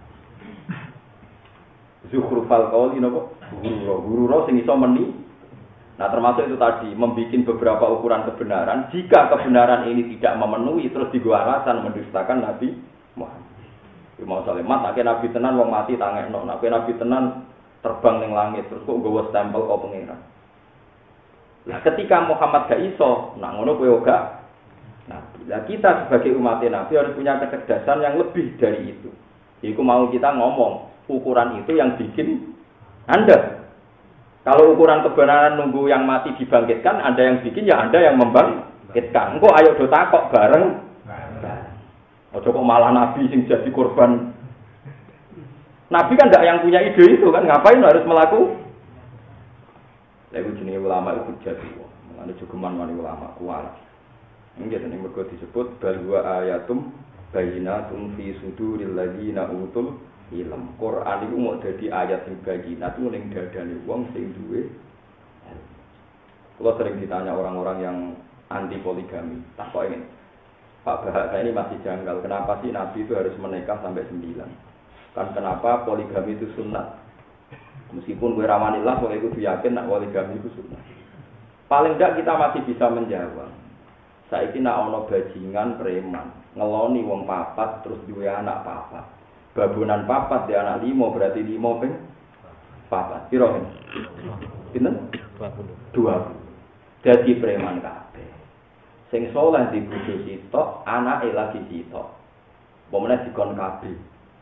Speaker 1: Zukhrufal qawli napa? Ghurur. Ghurur sing iso meni. Nah termasuk itu tadi, membuat beberapa ukuran kebenaran. Jika kebenaran ini tidak memenuhi, terus digawa alasan mendustakan Nabi Muhammad. Mau salemat, nak Nabi tenan, wong mati tangekno. Nak Nabi tenan, terbang ning langit, terus kok gawa stempel kok pengiran. Nah ketika Muhammad gak iso, nak ngono kowe gak. Nah, kita sebagai umat Nabi harus punya kecerdasan yang lebih dari itu. Iku mau kita ngomong, ukuran itu yang bikin Anda. Kalau ukuran kebenaran nunggu yang mati dibangkitkan, Anda yang bikin, ya Anda yang membangkitkan. Engko ayo do takok bareng. Ojo kok malah Nabi sing jadi korban. Nabi kan ndak yang punya ide itu kan, ngapain harus melaku? Lha iku jenenge ulama itu jadi wong. Mangane jogeman wani ulama kuat. Nggih tenan mergo disebut bal wa ayatum bayyinatun fi suduril ladina utul ilm. Quran itu mau jadi ayat yang bayinat itu ning dadane wong sing duwe. Kalau sering ditanya orang-orang yang anti poligami, tak kok ini Pak Bahasa ini masih janggal. Kenapa sih Nabi itu harus menikah sampai sembilan? Kan kenapa poligami itu sunat? Meskipun gue rawanillah, kalau itu yakin nak poligami itu sunat. Paling tidak kita masih bisa menjawab. Saiki nak ono bajingan preman, ngeloni wong papat terus duwe anak papat. Babunan papat di anak limo berarti limo ping papat. Piro kan? Pinten? dua puluh. Jadi preman kabeh. Sing saleh di bojo sitok, anake lagi sitok. Pomene dikon kabeh.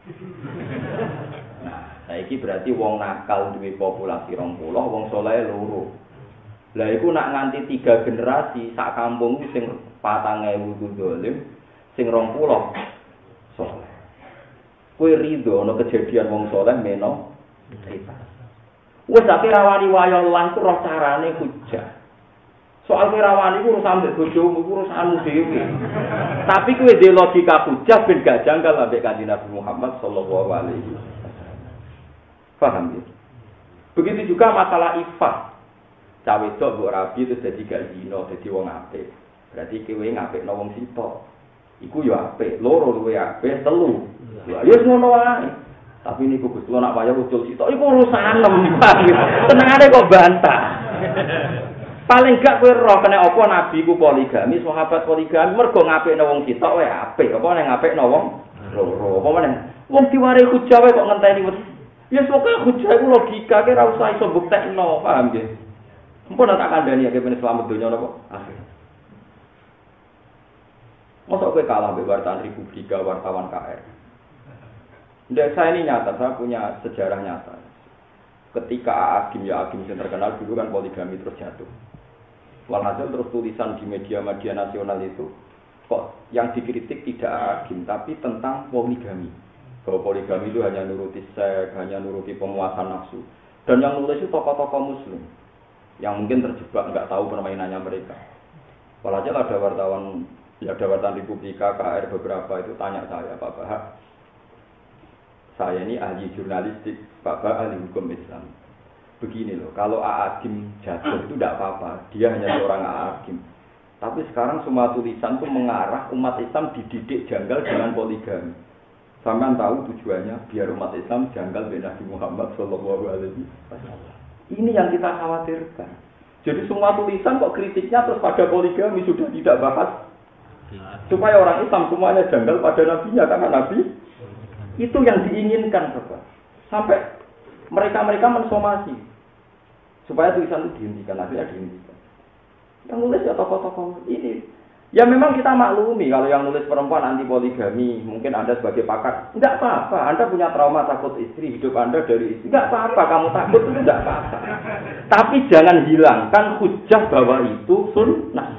Speaker 1: Nah, saiki berarti wong nakal duwe populasi rong puluh, wong saleh loro. Lah iku nak nganti tiga generasi sak kampung sing patang ewu dolim, sing rong puluh saleh. Kowe rido ana kejadian wong saleh meno cerita. Wis tapi rawani wayo lan ku roh carane hujah. Soal kowe rawani ku urusan mbek bojomu ku urusanmu dhewe. Tapi kowe dhe logika hujah ben gak janggal ambek Kanjeng Nabi Muhammad sallallahu alaihi wasallam. Paham ya? Begitu juga masalah ifah. Cawe wedok mbok rabi itu dadi gak zina, dadi wong apik. Berarti kowe ngapikno wong sitok. Iku yo apik, loro luwe apik, telu. Ya wis ngono wae. Tapi niku Gusti nak wayah ucul sitok iku urusanem. Tenangane kok bantah. Paling gak kowe roh kena apa nabi ku poligami, sahabat poligami mergo ngapikno wong sitok wae apik. Apa nek ngapikno wong loro. Apa meneh? Wong diware hujah wae kok ngenteni wis. Ya pokoke hujah iku logika ke ora usah iso buktekno, paham nggih? Mumpun tak kandhani ya ben selamat donya napa? Akhir. Masa kowe kalah mbek wartawan Republika, wartawan K R. Ndak, saya ini nyata, saya punya sejarah nyata. Ketika Agim, ya Agim yang terkenal dulu kan poligami terus jatuh. Walhasil terus tulisan di media-media nasional itu, kok yang dikritik tidak Agim, tapi tentang poligami. Bahwa poligami itu hanya nuruti seks, hanya nuruti pemuasan nafsu. Dan yang nulis itu tokoh-tokoh muslim, yang mungkin terjebak, nggak tahu permainannya mereka. Walhasil ada wartawan, ya ada wartawan Republika, K R beberapa itu tanya saya, Pak Bahak, saya ini ahli jurnalistik, Bapak ahli hukum Islam. begini loh, kalau A'agim jatuh itu tidak apa-apa, dia hanya seorang A'agim. Tapi sekarang semua tulisan itu mengarah umat Islam dididik janggal dengan poligami. Sampean tahu tujuannya biar umat Islam janggal dengan Nabi Muhammad Shallallahu Alaihi Wasallam. Ini yang kita khawatirkan. Jadi semua tulisan kok kritiknya terus pada poligami sudah tidak bahas. Supaya orang Islam semuanya janggal pada nabinya karena nabi itu yang diinginkan, Bapak. Sampai mereka-mereka mensomasi supaya tulisan itu dihentikan, akhirnya dihentikan. Yang nulis ya tokoh-tokoh ini. Ya memang kita maklumi kalau yang nulis perempuan anti poligami, mungkin Anda sebagai pakar, enggak apa-apa. Anda punya trauma takut istri, hidup Anda dari istri, enggak apa-apa. Kamu takut itu enggak apa-apa. Tapi jangan hilangkan hujah bahwa itu sunnah.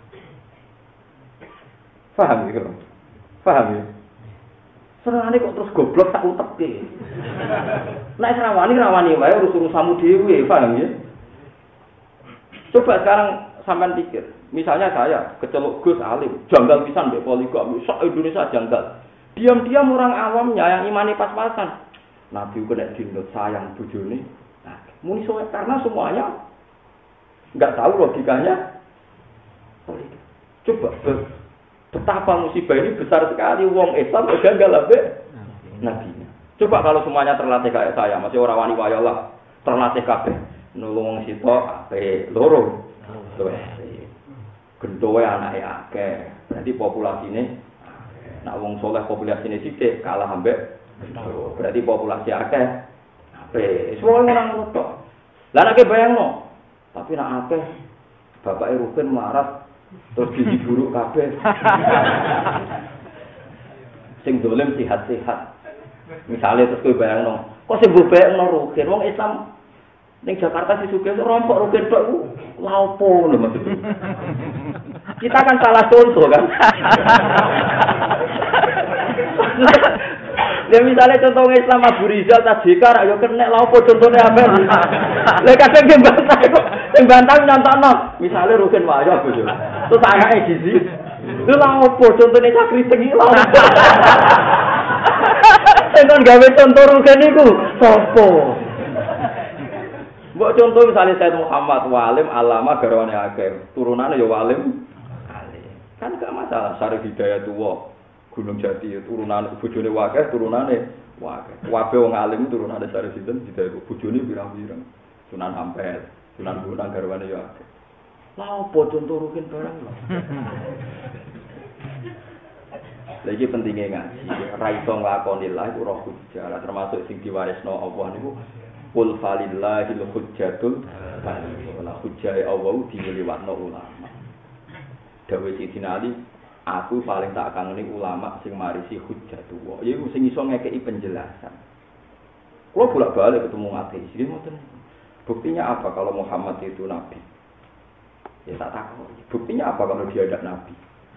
Speaker 1: Paham ya, kalau? Paham ya? Serangane kok terus goblok tak utek. Nek rawani rawani wae urus-urusanmu dhewe, paham ya? Coba sekarang sampean pikir, misalnya saya keceluk Gus alim, janggal pisan mbek poligami, sak Indonesia janggal. Diam-diam orang awamnya yang imani pas-pasan. Nabi kena dinut sayang bojone. Nah, muni soal karena semuanya enggak tahu logikanya. Coba betapa musibah ini besar sekali, wong Islam janggal ambek nabinya. Coba kalau semuanya terlatih kayak saya, masih orang wani wayalah, terlatih kabeh. Nulung sitok ape loro. Gendowe anake akeh. Berarti populasine nek wong saleh populasine sithik kalah ambek gendho. Berarti populasi akeh ape. Semua orang ngono tok. Lah nek bayangno, tapi nek akeh bapake Rukin marat terus gizi buruk kabeh. Sing dolen sehat-sehat. Misale terus kowe bayangno, kok sing mbok bayangno Rukin wong Islam ning Jakarta si sugih rompok Rukin tok ku lha opo lho maksud. Kita kan salah contoh kan. Ya misalnya contoh Islam Abu Rizal ta Jekar ayo kenek lha opo contone apa. Lah kadang ge bantah kok sing bantah nyontokno. Misale Rukin wayo Abu yo. Terus anake gizi. Lha lha opo contone sakriting iki lha opo. Sing kon gawe contoh Rukin iku sapa? Mbok contoh misalnya Said Muhammad walim alama garwane akeh, turunane ya walim alim. Kan gak masalah Syarif Hidayat tuwa, Gunung Jati turunane bojone akeh, turunane akeh. Kabeh wong alim turunane Syarif Hidayat, bojone pirang-pirang. Sunan Ampel, Sunan Bonang garwane ya akeh. Lah opo contoh Rukin barang lho. Lha iki pentinge ngaji, ra iso nglakoni la iku roh hujjah, termasuk sing diwarisno Allah niku Qul falillahil hujjatul baligh. Wala hujjahe Allah diliwatno ulama. Dawuh Sidina Ali, aku paling tak kangeni ulama sing marisi hujjatullah. Yaiku sing iso ngekeki penjelasan. Kulo bolak-balik ketemu ateis, iki ngoten. Buktinya apa kalau Muhammad itu nabi? Ya tak takut. Buktinya apa kalau dia ada nabi?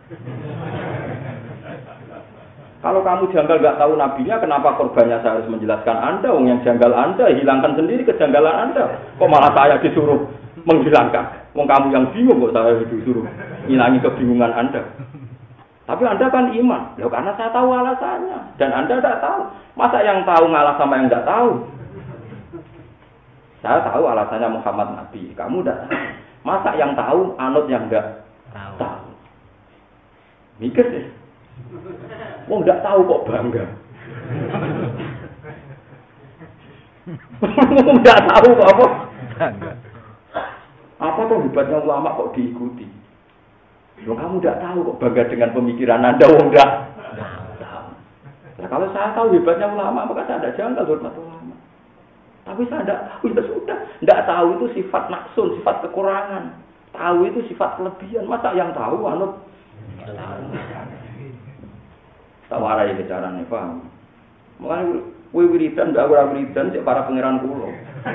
Speaker 1: Kalau kamu janggal nggak tahu nabinya, kenapa korbannya saya harus menjelaskan Anda? Wong yang janggal Anda, hilangkan sendiri kejanggalan Anda. Kok malah saya disuruh menghilangkan? Wong kamu yang bingung kok saya disuruh hilangi kebingungan Anda. Tapi Anda kan iman, loh karena saya tahu alasannya. Dan Anda tidak tahu. Masa yang tahu ngalah sama yang nggak tahu? Saya tahu alasannya Muhammad Nabi, kamu tidak tahu. Masa yang tahu anut yang nggak tahu? tahu. Mikir deh. Wong nggak tahu kok bangga. Wong nggak tahu kok apa? Bangga. Apa tuh hebatnya ulama kok diikuti? Loh kamu nggak tahu kok bangga dengan pemikiran Anda, wong nggak tahu. Nah, kalau saya tahu hebatnya ulama, maka saya tidak janggal hormat ulama. Tapi saya tidak tahu, ya sudah. Tidak tahu itu sifat naksun, sifat kekurangan. Tahu itu sifat kelebihan. Masa yang tahu anut? Tahu. Tak warai bicarane, paham. Mulane kowe wiridan ndak ora wiridan cek para pangeran kula.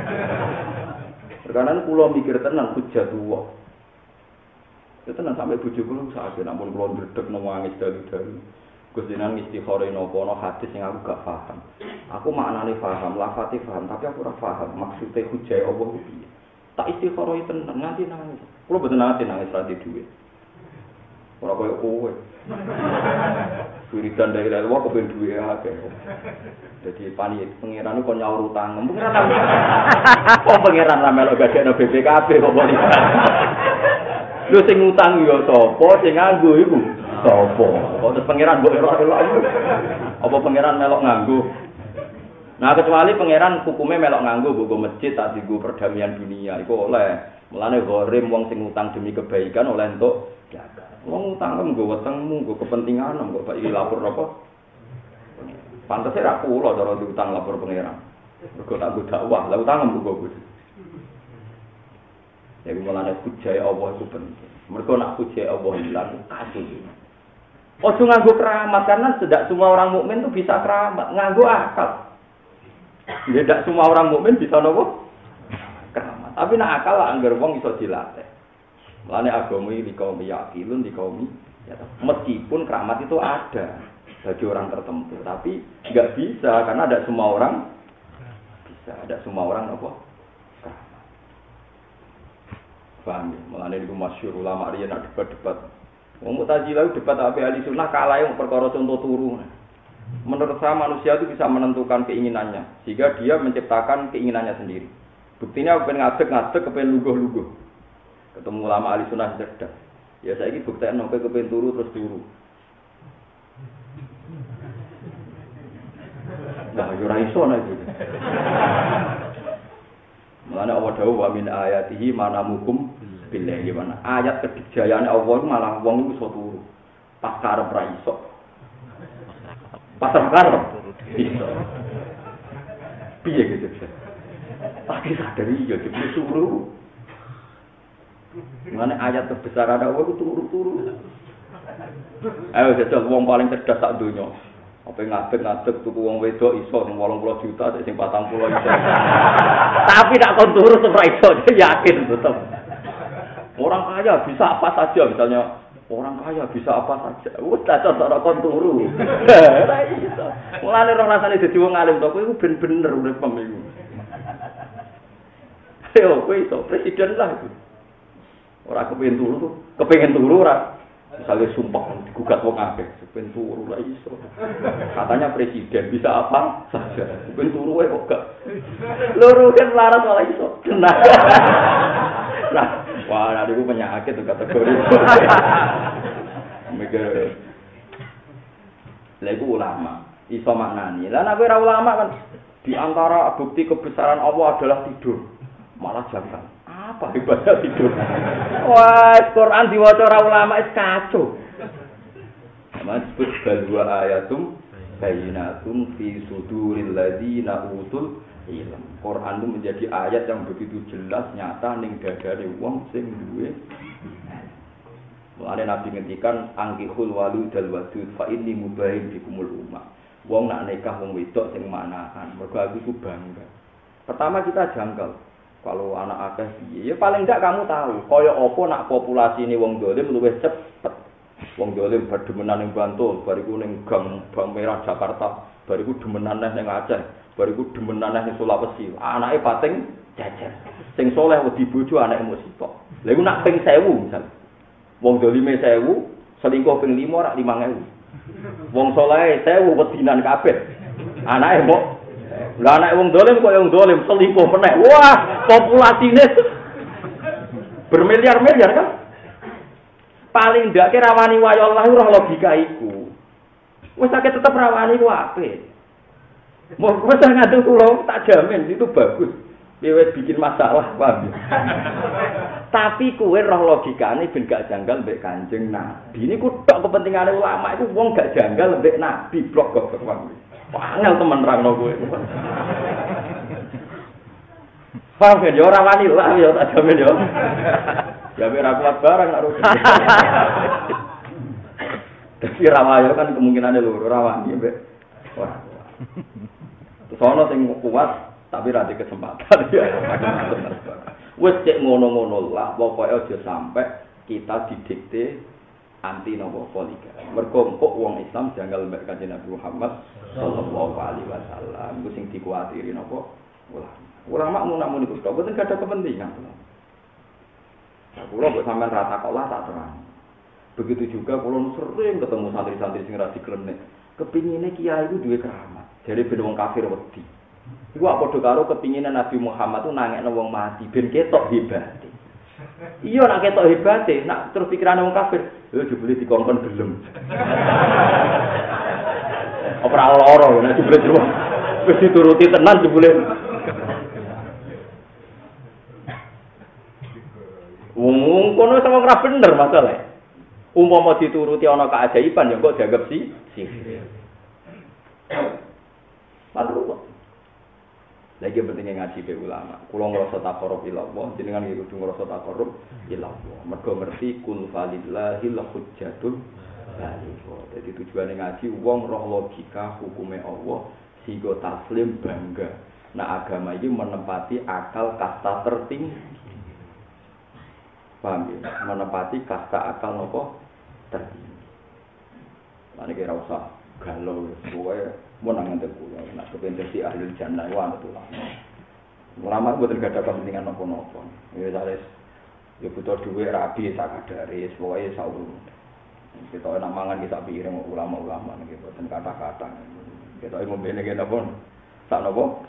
Speaker 1: Karena kula mikir tenan hujjatullah. Ya tenan sampai bojo kula sakit ampun kula ndredeg nangis dalu-dalu. Gusti nang istikharah napa ana hadis sing aku gak paham. Aku maknane paham, lafate paham, tapi aku ora paham maksude hujjah Allah piye. Tak istikharah tenan nganti nangis. Kula mboten nate nangis ra duwe. Ora koyo kowe. Wiridan dari lewat kepen duwe akeh. Jadi panik pangeran kok nyaur utang. Pangeran. Kok pangeran ra melok gadekno B P K B kok bali. Lho sing utang yo sapa, sing nganggo iku sapa? Kok terus pangeran mbok elok-elok. Apa pangeran melok nganggo? Nah kecuali pangeran hukumnya melok nganggo nggo masjid tak dienggo perdamaian dunia iku oleh. Mulane gharim wong sing utang demi kebaikan oleh entuk jaga. Wong utang nggo wetengmu, nggo kepentingan, kok bak iki lapor apa? Pantese ra kula cara diutang lapor pangeran. Mergo tak nggo dakwah, lha utang nggo. Ya mulane hujai Allah itu penting. Mergo nak hujai Allah hilang kasus. Ojo nganggo keramat karena tidak semua orang mukmin itu bisa keramat, nganggo akal. Tidak semua orang mukmin bisa nopo? Keramat. Tapi nak akal anggar wong iso dilatih. Mulane agama iki kaum yakilun di kaum ya, meskipun keramat itu ada bagi orang tertentu, tapi enggak bisa karena ada semua orang bisa, ada semua orang apa? Keramat. Paham ya? Mulane niku masyhur ulama riyen nak debat-debat. Wong Mu'tazilah debat ape ahli sunnah kalah yang perkara contoh turu. Menurut saya manusia itu bisa menentukan keinginannya sehingga dia menciptakan keinginannya sendiri. Buktinya aku pengen ngadeg-ngadeg, kepengen luguh-luguh. Ketemu ulama ahli sunnah cerdas. Ya saiki buktikan sampai kepengen turu terus turu. Nah, yo ora iso nek iki. Mulane Allah dawuh wa min ayatihi manamukum billah gimana? Ayat kedikjayaane Allah malah wong iku iso turu. Pas karep ra iso. Pas karep iso. Piye gitu. Tapi sadari ya disuruh. Mulane ayat terbesar ada Allah turu-turu. Ayo jajal wong paling cerdas sak donya. Apa ngadeg-ngadeg tuku wong wedok iso sing wolong puluh juta sing patang puluh iso. Tapi tak kon turu ora iso, yakin tetep. Orang kaya bisa apa saja misalnya orang kaya bisa apa saja. Wes tak cara kon turu. Ora iso. Mulane roh rasane dadi wong alim to kowe iku ben-bener uripem iku. Yo kowe iso presiden lah itu. Ora kepengin turu, kepengin turu ora. Misalnya sumpah digugat wong akeh, kepengin turu lah iso. Katanya presiden bisa apa saja. Kepengin turu wae kok gak. Loro kan laras malah iso. Nah, wah ada iku penyakit tuh kategori. Mikir. Lah iku ulama, iso maknani. Lah nek ora ulama kan di antara bukti kebesaran Allah adalah tidur. Malah jangan. Apa ibadah tidur? Wah, Quran diwaca ora ulama is kacau. Mas disebut balwa ayatum bayyinatun fi suduril ladzina utul ilm. Quran itu menjadi ayat yang begitu jelas nyata ning dadane wong sing duwe. Mulane Nabi ngendikan angkihul waludal wadud fa inni mubahin bikumul ummah. Wong nak nikah wong wedok sing manahan, mergo aku iku bangga. Pertama kita janggal. Kalau anak akeh piye? Ya paling enggak kamu tahu, kaya apa nak populasi ini wong dolim luwih cepet. Wong dolim berdemenan ning Bantul, bariku ning Gang Bang Merah Jakarta, bariku demenan ning Aceh, bariku demenan ning Sulawesi. Anake pating jejer. Sing soleh wedi bojo anake mung sitok. Lha iku nak ping seribu misal. Wong dolime seribu, selingkuh ping lima rak lima ribu. Wong soleh seribu wedinan kabeh. Anake mbok lah anak wong dolim kok yang dolim selingkuh meneh. Wah, populasine bermiliar-miliar kan? Paling ndak ki rawani wayo Allah ora logika iku. Wis akeh tetep rawani ku apik. Mau wis ngadu kula tak jamin itu bagus. Piye bikin masalah, paham. Tapi kowe roh logikane ben gak janggal mbek Kanjeng Nabi. Niku tok kepentingane ulama iku wong gak janggal mbek Nabi blok kok wong. Panel temen rangno kowe. Paham ya ora wani lah ya tak jamin ya. Ya ora kuat barang nak rugi. Tapi rawayo kan kemungkinane loro ora wani mbek. Wah. Terus ana sing kuat tapi ra di kesempatan ya. Wis cek ngono-ngono lah pokoke aja sampai kita didikte anti nopo poligami. Mergo kok wong Islam janggal mbek Kanjeng Nabi Muhammad sallallahu alaihi wasallam. Iku sing dikuatiri nopo ulama. Ulama mun namun iku tok boten ada kepentingan. Nah, kula kok sampean rata kok lah tak terang. Begitu juga kula sering ketemu santri-santri sing ra diklenek. Kepingine kiai iku duwe keramat. Jare ben wong kafir wedi. Iku apa padha karo kepingine Nabi Muhammad tuh nangekno wong mati ben ketok hebate. Iya nak ketok hebate, nak terus pikirane wong kafir, lho jebule dikongkon gelem. Ora lara nek jebule terus wis dituruti tenan jebule. Wong kono sama ora bener masalah. Umpama dituruti ana keajaiban ya kok dianggap si sihir. Lalu lagi pentingnya ngaji be ulama. Kula ngrasa taqarrub ila Allah, jenengan iki kudu ngrasa taqarrub ila Allah. Mergo ngerti kun falillahil hujjatul baligh. Dadi tujuane ngaji wong roh logika hukume Allah sehingga taslim bangga. Nah agama ini menempati akal kasta tertinggi. Paham ya? Menempati kasta akal nopo tertinggi. Lan iki ora usah galau pokoke mun nang ngene kula nek kepen dadi ahli jannah wae betul. Ulama mboten gadah kepentingan napa-napa. Ya wis ya butuh dhuwit rabi sak kadare pokoke saurung. Kita enak mangan kita piring ulama-ulama niki mboten kata-kata. Kita ngombe niki napa? Sak napa?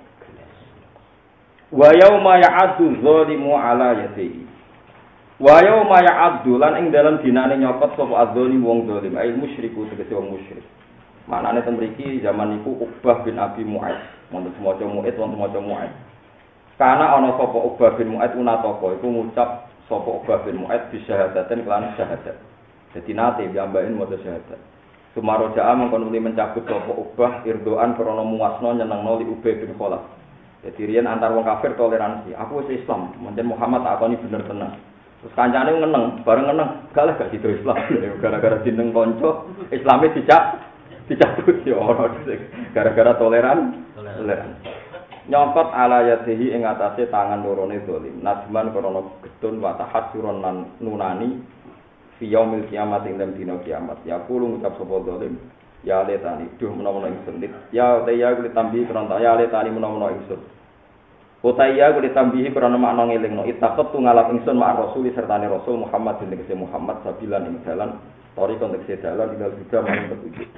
Speaker 1: Wa yauma ya'addu dzalimu ala yadihi. Wa yauma ya'addu lan ing dalam dinane nyopot sapa adzzalim wong zalim, ai musyriku tegese wong musyrik. Manane ten mriki zaman niku Uqbah bin Abi Mu'aid, wonten semaca Mu'aid wonten semaca Mu'aid. Kana ana sapa Uqbah bin Mu'aid unataka iku ngucap sapa Uqbah bin Mu'aid bi syahadaten kelan syahadat. Dadi nate piyambaken maca syahadat. Sumaroja'a mengkon uli mencabut sapa Uqbah irdoan krana muasna nyenengno li Ubay bin Khalaf. Dadi riyen antar wong kafir toleransi. Aku wis Islam, pancen Muhammad tak akoni bener tenan. Terus kancane ngeneng, bareng ngeneng, galah gak sido Islam. Gara-gara jeneng kanca Islame dicak dicabut ya ora gara-gara toleran toleran nyongkot ala yadihi ing atase tangan lorone zalim najman krana gedun wa tahassuron lan nunani fi yaumil kiamat ing dalem dina kiamat ya kulo ngucap sapa zalim ya letani duh menawa ingsun ya ya kulo tambi krana ya letani menawa ingsun utaya kulo tambihi krana makna ngelingno itaqat ngalap ingsun mak rasul sertane rasul Muhammad bin Muhammad sabilan ing dalan tori konteks dalan tinggal juga maring petunjuk.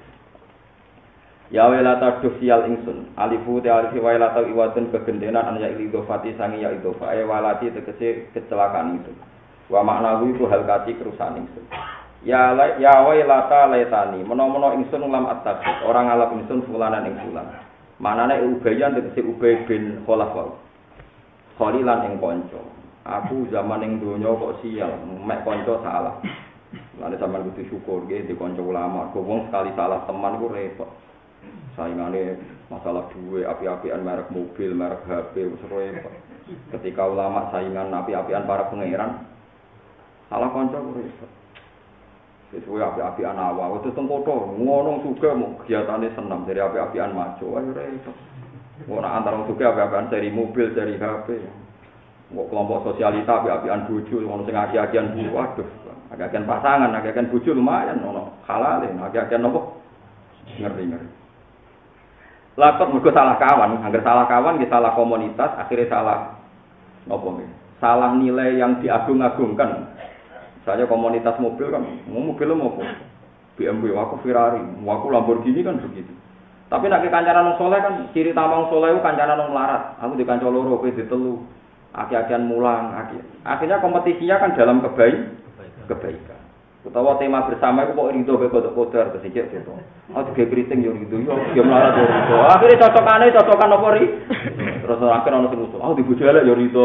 Speaker 1: Ya welata dosial ingsun alifu te alifi welata iwatun kegendenan an ya idofati sangi ya idofa e walati tegese kecelakaan itu wa maknawi ku hal kati kerusakan ingsun ya ya welata letani menawa-menawa ingsun lam at-takhid orang ngalap ingsun fulanan ing fulan manane ubayan tegese Ubay bin Khalaf khalilan ing kanca aku zaman ing donya kok sial mek kanca salah lan sampean kudu syukur nggih di kanca ulama kok wong sekali salah teman ku repot. Saingane masalah duwe api-apian merek mobil, merek H P wis repot. Ketika ulama saingan api-apian para pangeran salah kanca ku repot. Wis kuwi api-apian awak, wis tengkoto, ngono suga mung kegiatane senam dari api-apian maju, ayo repot. Ora antara wong suga api-apian seri mobil, seri H P. Kok kelompok sosialita api-apian bojo, ngono sing aki-akian bu, waduh. Aki-akian pasangan, aki-akian bojo lumayan ono halale, aki-akian nopo? Ngeri-ngeri. Lakot mergo salah kawan, angger salah kawan nggih salah komunitas, akhirnya salah nopo nggih. Salah nilai yang diagung-agungkan. Misalnya komunitas mobil kan, mobil mau B M W, aku Ferrari, aku Lamborghini kan begitu. Tapi nek kancanan wong saleh kan ciri tamang saleh ku kancanan wong melarat. Aku di kanca loro kowe ditelu. Aki-akian mulang, aki. Akhirnya kompetisinya kan dalam kebaik kebaikan. Utawa tema bersama itu kok rido ke kodok-kodok kesijik gitu. Oh juga keriting yo rido, yo yo melarat yo rido. Akhirnya cocokane cocokan apa ri? Terus akhir ono sing usul, oh dibojo elek yo rido.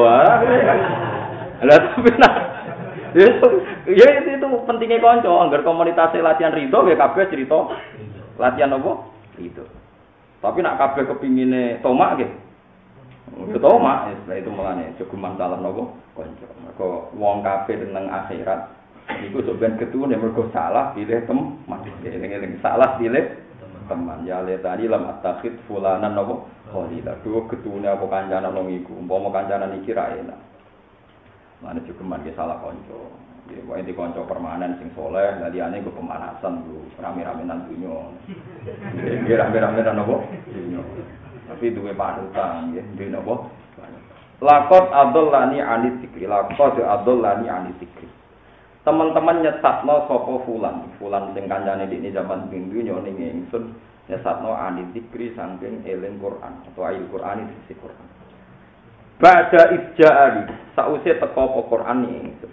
Speaker 1: Lah tapi nah. Ya itu, itu pentingnya kanca, anggar komunitas latihan rido ya kabeh cerita latihan apa? Rido. Tapi nak kabeh kepingine tomak nggih. Yo tomak, ya itu melane jogeman dalam napa kanca. Mergo wong kabeh nang akhirat iku sampeyan ketune mergo salah pilih teman. Eling-eling salah pilih teman. Ya le tadi lam atakhid fulanan napa khalila. Duh ketune apa kancanan nang iku. Umpama kancanan iki ra enak. Mane cukuman ge salah kanca. Ya wae di kanca permanen sing saleh, lah liyane go pemanasan lho, rame-ramenan dunyo. Nggih rame-ramenan napa? Dunyo. Tapi duwe panutan nggih, duwe napa? Laqad adallani anit zikri, laqad adallani anit zikri. teman-teman nyesatno sapa fulan, fulan sing kancane dikne zaman dunya ning ingsun nyesatno anil zikri saking eling Quran atau ayat Quran isi Quran. Ba'da ijja'ali sause teko apa Quran ingsun.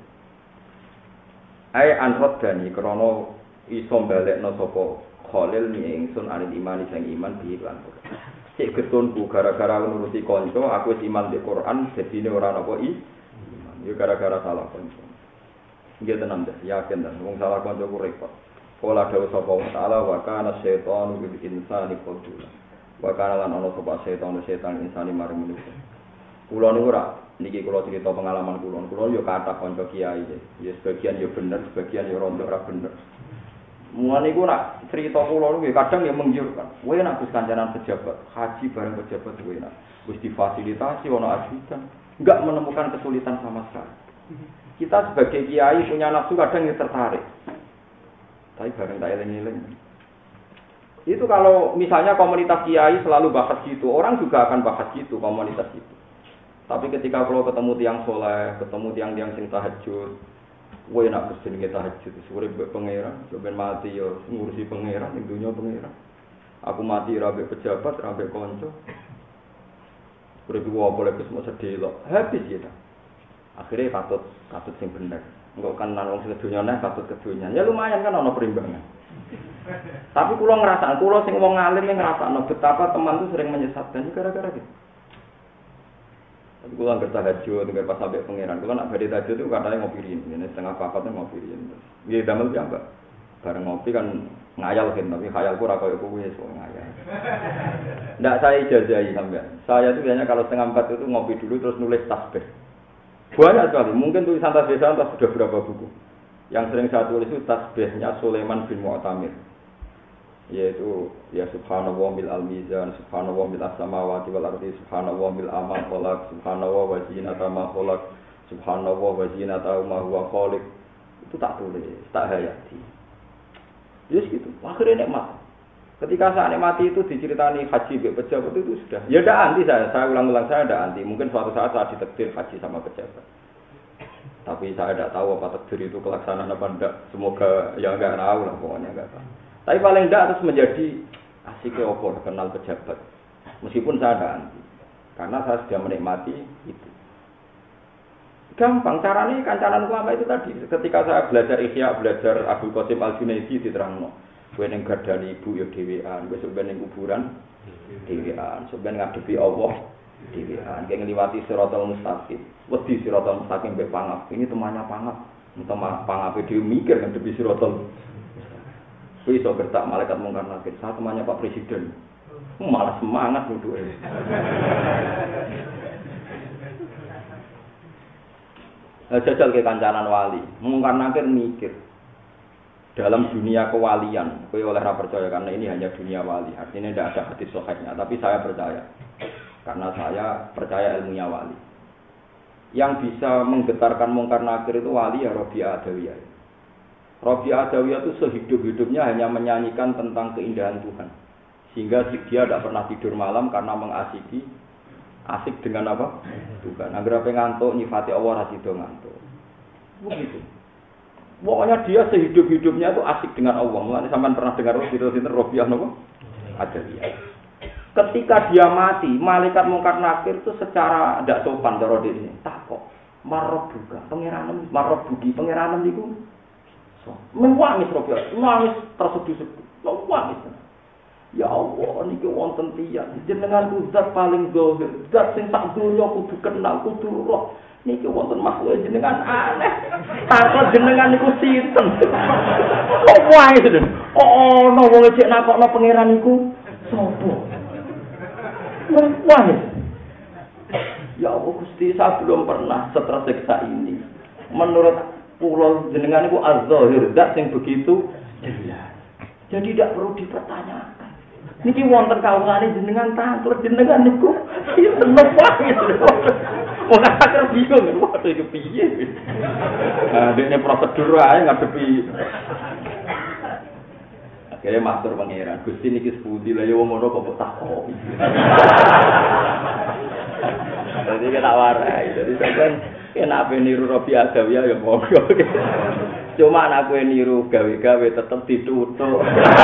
Speaker 1: Ai anrodani krana iso balekno sapa Khalil ni ingsun anil iman sing iman bi lan Quran. Cek ketunku gara-gara nuruti kanca aku wis iman di Quran dadine ora napa i iman. Ya gara-gara salah kanca. Nggih tenan dah, yakin dah wong salah kanca ku repot. Kala dawuh sapa wa ta'ala wa kana syaitanu bil insani qadula. Wa kana lan ana sapa setan setan insani mari manusa. Kula niku ora niki kula cerita pengalaman kula. Kula yo kathah kanca kiai. Ya sebagian yo bener, sebagian yo rondo ora bener. Mulane iku nak cerita kula niku kadang yo menggiurkan. Kowe nak wis kancanan pejabat, haji bareng pejabat kowe nak wis difasilitasi ana ajudan, enggak menemukan kesulitan sama sekali. Kita sebagai kiai punya nafsu kadang yang tertarik. Tapi bareng tak eling-eling. Itu kalau misalnya komunitas kiai selalu bahas gitu, orang juga akan bahas gitu komunitas itu. Tapi ketika kalau ketemu tiang soleh, ketemu tiang-tiang sing tahajud, kowe nak berjenenge tahajud, sore mbek pangeran, sampeyan mati yo ngurusi pangeran ning dunya pangeran. Aku mati ra mbek pejabat, ra mbek kanca. Urip ku apa lek wis sedih lho. Habis ya. Akhirnya katut katut sing bener. Engko kan nang wong sedonya neh katut kedonya. Ya lumayan kan ana perimbangan. Tapi kula ngrasakno, kula sing wong alim ngrasakno betapa teman itu sering menyesatkan gara-gara gitu. Tapi kula ngerti tahajud nggak pas sampai pangeran. Kula nak badhe tahajud itu katanya ngopi rin, ini setengah papat ngopi rin. Nggih damel piyambak. Bareng ngopi kan ngayal kan, tapi khayalku ora koyo kowe sok ngayal. Ndak saya ijazahi sampean. Saya itu biasanya kalau setengah empat itu ngopi dulu terus nulis tasbih. Banyak sekali, mungkin tulisan tasbih saya entah sudah berapa buku. Yang sering saya tulis itu tasbihnya Sulaiman bin Mu'tamir. Yaitu ya subhanallah bil al-mizan, subhanallah bil as-samawati wal ardi, subhanallah bil amal khalaq, subhanallah wa zinata ma khalaq, subhanallah wa zinata ma huwa khaliq. Itu tak tulis, tak hayati. Yes gitu, akhirnya nikmat. Ketika saya nikmati itu diceritani haji be pejabat itu sudah. Ya ada anti saya, saya ulang-ulang saya ada anti. Mungkin suatu saat saya ditakdir haji sama pejabat. Tapi saya tidak tahu apa takdir itu kelaksanaan apa enggak. Semoga ya enggak tahu lah pokoknya enggak tahu. Tapi paling enggak harus menjadi asik opor kenal pejabat. Meskipun saya ada anti. Karena saya sudah menikmati itu. Gampang caranya kancanan ulama itu tadi. Ketika saya belajar Ihya, belajar Abdul Qasim Al-Junaidi diterangno. Kowe ning gardani ibu ya dhewean, kowe sampeyan ning kuburan dhewean, sampeyan ngadepi Allah dhewean, kaya ngliwati siratal mustaqim. Wedi siratal mustaqim mbek pangap. Ini temannya pangap. Teman pangape dhewe mikir ngadepi siratal. Kowe iso gertak malaikat mungkar nakir, saya temannya Pak Presiden. Malah semangat duduke. Jajal ke kancanan wali, mungkar nakir mikir. Dalam dunia kewalian, saya oleh ra percaya karena ini hanya dunia wali. Artinya tidak ada hadis sahihnya, tapi saya percaya. Karena saya percaya ilmunya wali. Yang bisa menggetarkan mungkar nakir itu wali ya Rabi'ah Adawiyah. Rabi'ah Adawiyah itu sehidup-hidupnya hanya menyanyikan tentang keindahan Tuhan. Sehingga dia tidak pernah tidur malam karena mengasiki asik dengan apa? Tuhan. Agar apa ngantuk nyifati Allah ra sido ngantuk. Begitu. Pokoknya dia sehidup-hidupnya itu asik dengan Allah. Mulanya sampean pernah dengar cerita-cerita Rabi'ah napa? Adawiyah. Ketika dia mati, malaikat mungkar nakir itu secara tidak sopan cara dene. Takok, marab buka, pangeran marab buki, pangeran niku. So, menangis Rabi'ah, nangis tersedih-sedih. Nangis. Ya Allah, niki wonten tiyang jenengan zat paling zahir, zat sing sak donya kudu kenal, kudu roh. Niki wonten makhluk jenengan aneh. Takon jenengan niku sinten? Kok wae to? Oh, ono wong cek nakokno pangeran niku sapa? Wah. Ya Allah Gusti, saya belum pernah setersiksa ini. Menurut kula jenengan niku az-zahir, zat sing begitu jelas. Jadi tidak perlu dipertanyakan. Niki wonten kawulane jenengan tanglet jenengan niku sinten wae. Wong akhir bingung, waduh iki piye. Nah, dene prosedur ae ngadepi. Akhirnya matur pangeran, Gusti niki sepundi lah ya wong ngono kok takok. Jadi Jadi kita warai. Jadi sampean kena ape niru Robi Adawiyah ya monggo. Cuma aku niru gawe-gawe tetep ditutup.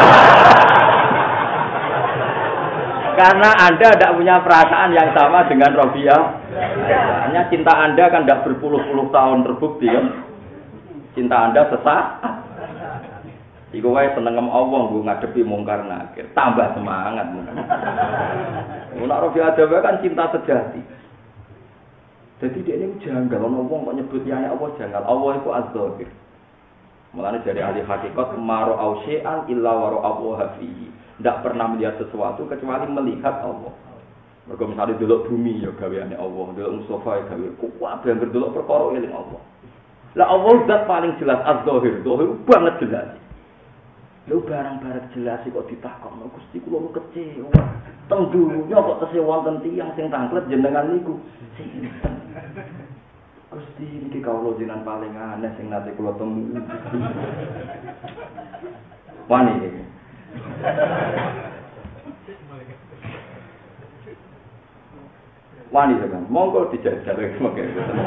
Speaker 1: Karena Anda tidak punya perasaan yang sama dengan Robiah. Hanya cinta Anda kan tidak berpuluh-puluh tahun terbukti kan. Cinta Anda sesaat. Iku wae seneng Allah nggo ngadepi mungkar nakir, tambah semangat mungkin. Nek Robiah Adawiyah kan cinta sejati. Jadi dia ini janggal, ono wong kok nyebut liyane Allah janggal. Allah itu az-zahir. Mulane dari ahli hakikat maro ausya'an illa wa ra'ahu fihi. Tidak pernah melihat sesuatu kecuali melihat Allah. Mergo misale delok bumi ya gaweane Allah, delok Mustafa ya gawe kuat ben delok perkara eling Allah. Lah Allah zat paling jelas az-zahir, zahir banget jelas. Lho barang-barang jelas kok ditakokno Gusti kula kecewa. Teng dunya kok tesih wonten tiyang sing tanglet jenengan niku. Gusti niki kawula jenengan paling aneh sing nate kula temu. Wani iki. Wani kan, monggo dijajal mengke.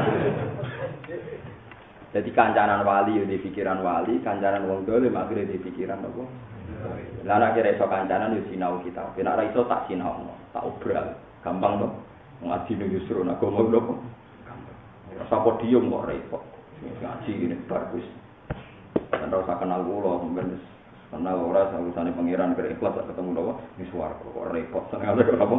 Speaker 1: Jadi kancanan wali di pikiran wali, kancanan wong dolim akhirnya di pikiran apa? Lah nek kira iso kancanan yo sinau kita. Nek ora iso tak sinau, tak obral. Gampang to. Ngaji ning justru nek ngomong lho. Gampang. Rasa podium kok repot. Ngaji ngene bar wis. Ora usah kenal kula, sampeyan wis kenal ora urusane pangeran kira ikhlas ketemu lho wis swarga kok repot. Senengane kok apa?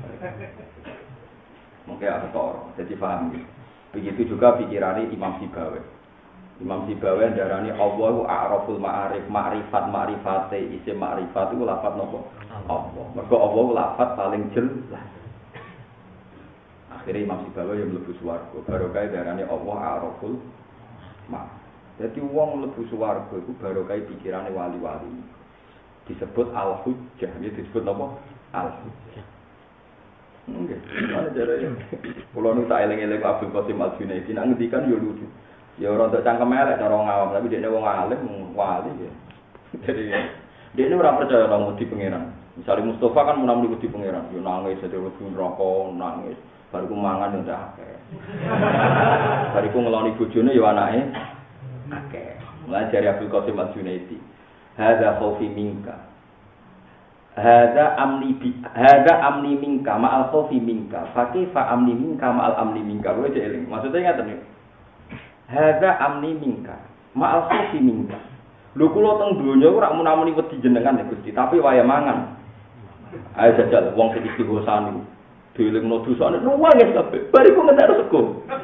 Speaker 1: Mungkin ada toro. Jadi paham gitu. Begitu juga pikirannya Imam Sibawi. Imam Sibawi darani Allahu a'raful ma'arif, ma'rifat ma'rifate isim ma'rifat itu lafaz nopo? Allah. Mergo Allah lafaz paling jelas. Akhirnya Imam Sibawi yang mlebu swarga. Barokah darani Allah a'raful ma. Jadi wong mlebu swarga iku barokah pikirane wali-wali. Disebut al-hujjah, ya disebut nopo? Al-hujjah. Nggih. Ana jare. Kulo nu tak eling-eling Abdul Qasim Al-Junaidi nang ngendikan yo lucu. Ya ora untuk cangkem elek cara ngawam, tapi dekne wong alim, wali ya. Jadi dekne ora percaya nang wedi pangeran. Misale Mustafa kan menamuni wedi pangeran, yo nangis dadi wedi neraka, nangis. Bariku mangan yo ndak akeh. Bariku ngeloni bojone yo anake akeh. Mulane jare Abdul Qasim Al-Junaidi. Hadza khaufi minka. Hadza amni bi hadza amni minka ma'al khaufi minka. Fa kaifa amni minka ma'al amni minka. Kowe eling. Maksudnya ngaten iki. Hadza amni minka ma'al khaufi minka. Lho kula teng donya ora munamuni wedi jenengan ya Gusti, tapi waya mangan. Ayo jajal wong sing istighosan niku. Dielingno dosane nuwangis kabeh. Bariku ngentek sego.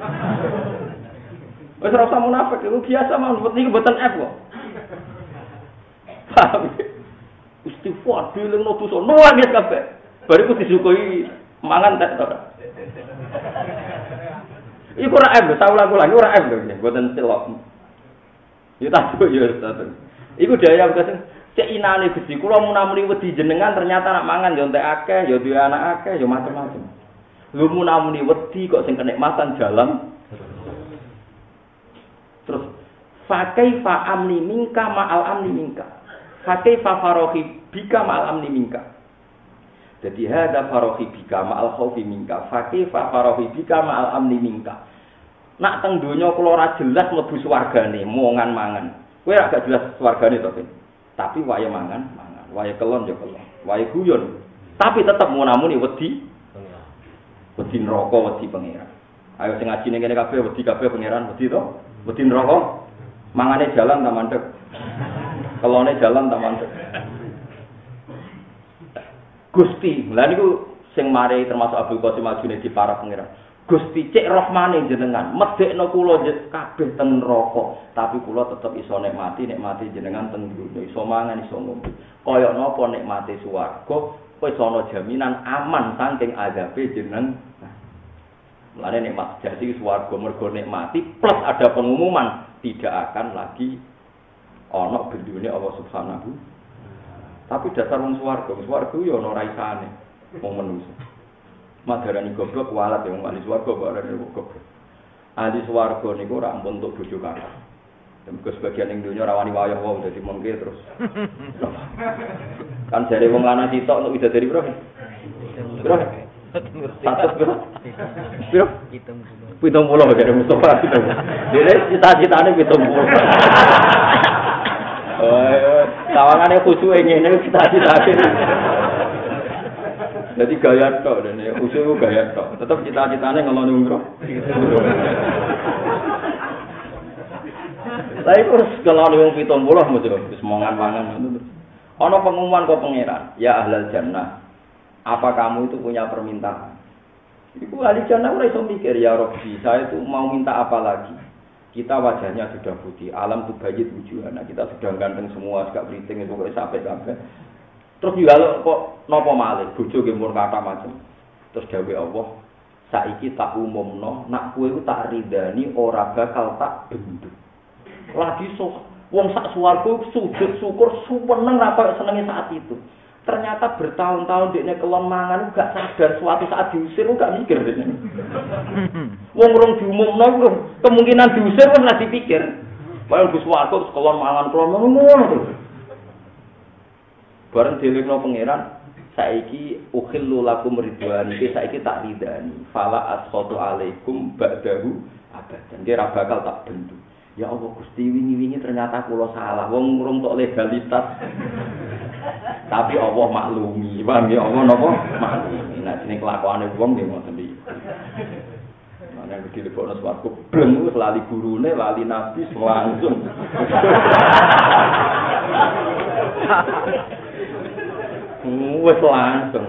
Speaker 1: Wis ora usah munafik, iku biasa mawon niku mboten F kok. Paham? Istighfar dielingno dosa nuwangis kabeh. Bariku disukui mangan tek to. Iku ora M, saya ulang-ulang, ora M lho, mboten celok. Ya tak yo ya. Iku daya wis cek inane Gusti, kula munamuni wedi jenengan ternyata nak mangan yo entek akeh, yo duwe anak akeh, yo macam-macam. Lho munamuni wedi kok sing kenikmatan jalan. Terus fa kaifa amni minka ma'al amni minka. Fa kaifa farohi bika ma'al amni minka. Jadi hada farohi bika ma'al khaufi minka. Fa kaifa farohi bika ma'al amni minka. Nak teng donya kula ora jelas mlebu swargane, mongan mangan. Kowe ora gak jelas swargane to, tapi wae mangan, mangan. Wae kelon ya kelon. Wae guyon. Tapi tetep munamuni wedi. Wedi neraka, wedi pangeran. Ayo sing ngaji ning kene kabeh wedi kabeh pangeran, wedi to? Wedi neraka. Mangane jalan ta mandeg. Kelone jalan ta mandeg. Gusti, lha niku sing mari termasuk Abdul Qasim Al-Junaidi para pangeran. Gusti cek rahmane jenengan, medhekno kula kabeh teng neraka, tapi kula tetep iso nikmati nikmati jenengan teng dunya, iso mangan iso ngombe. Kaya napa nikmati swarga, wis ana jaminan aman saking azabe jeneng. Mulane nikmat sejati swarga mergo nikmati plus ada pengumuman tidak akan lagi ana bendune Allah Subhanahu. Tapi dasar wong swarga, swarga yo ana raisane wong manusa. Madarani goblok walat yang wali swarga kok ora goblok. Ahli swarga niku ora ampun untuk bojo kata. Mergo sebagian ning donya ora wani wayah wae dadi mengke terus. Kan jare wong lanang sitok untuk widadari bro. Bro. Satu piro? Piro? Pitung puluh dari Mustafa pitung. Dene cita-citane pitung puluh. Oh, sawangane khusyuk ngene cita-citane. Jadi gaya tok dene khusyuk gaya tok. Tetep cita-citane ngeloni umroh. Lah iku ngeloni wong pitung puluh mesti wis mangan-mangan ngono. Ana pengumuman kok pangeran, ya ahlal jannah. Apa kamu itu punya permintaan? Iku ahli jannah ora iso mikir, ya Rabbi, saya itu mau minta apa lagi? Kita wajahnya sudah putih, alam tuh bayit wujuhana, kita sudah ganteng semua, gak beriting itu kok sampai-sampai. Terus juga kok nopo malih, bojo ge mun kata macam. Terus dawuh Allah, saiki tak umumno, nak kowe ku tak ridani ora bakal tak benduk. Lagi sok wong sak swarga sujud syukur suweneng ra koyo senenge saat itu. Ternyata bertahun-tahun dekne kelon mangan gak sadar suatu saat diusir gak mikir dekne. Wong rong diumumno iku kemungkinan diusir wong ora dipikir. Wong Gus Warko kelon mangan kelon ngono terus. Bareng dilingno pangeran saiki ukhillu lakum ridwan iki saiki tak ridani. Fala asqatu alaikum ba'dahu abadan. Dia ra bakal tak bendu. Ya Allah Gusti wingi-wingi ternyata kula salah. Wong urung tok legalitas. Tapi Allah maklumi. Paham ya Allah napa? Maklumi. Nah jeneng kelakuane wong nggih ngoten iki. Ana gede lebokno swarga bleng wis lali gurune, lali nabi langsung. Wis langsung.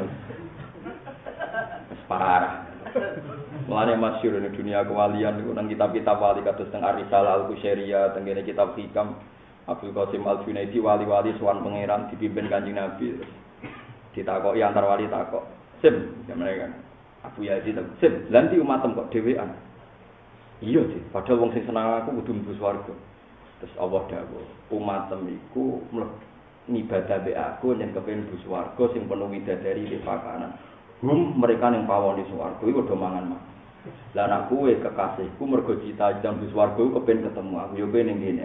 Speaker 1: Wis parah. Mulane masyhur ning dunia kewalian niku nang kitab-kitab wali kados teng Ar-Risalah Al-Qusairiyah, teng kene kitab Hikam Abdul Qasim Al-Junaidi wali-wali sowan pangeran dipimpin Kanjeng Nabi. Ditakoki antar wali takok. Sim, mereka Abu Yazid, sim, lanti umatem kok dhewean. Iya sih, padahal wong sing seneng aku kudu mlebu swarga. Terus Allah dawuh, umatem iku ngibadah be aku yen kepengin mlebu swarga sing penuh widadari di pakanan. Hum mereka yang pawon di swarga iku do mangan mak. Lah anak kowe kekasihku mergo cita-cita mlebu swarga kepen ketemu aku yo kene ngene.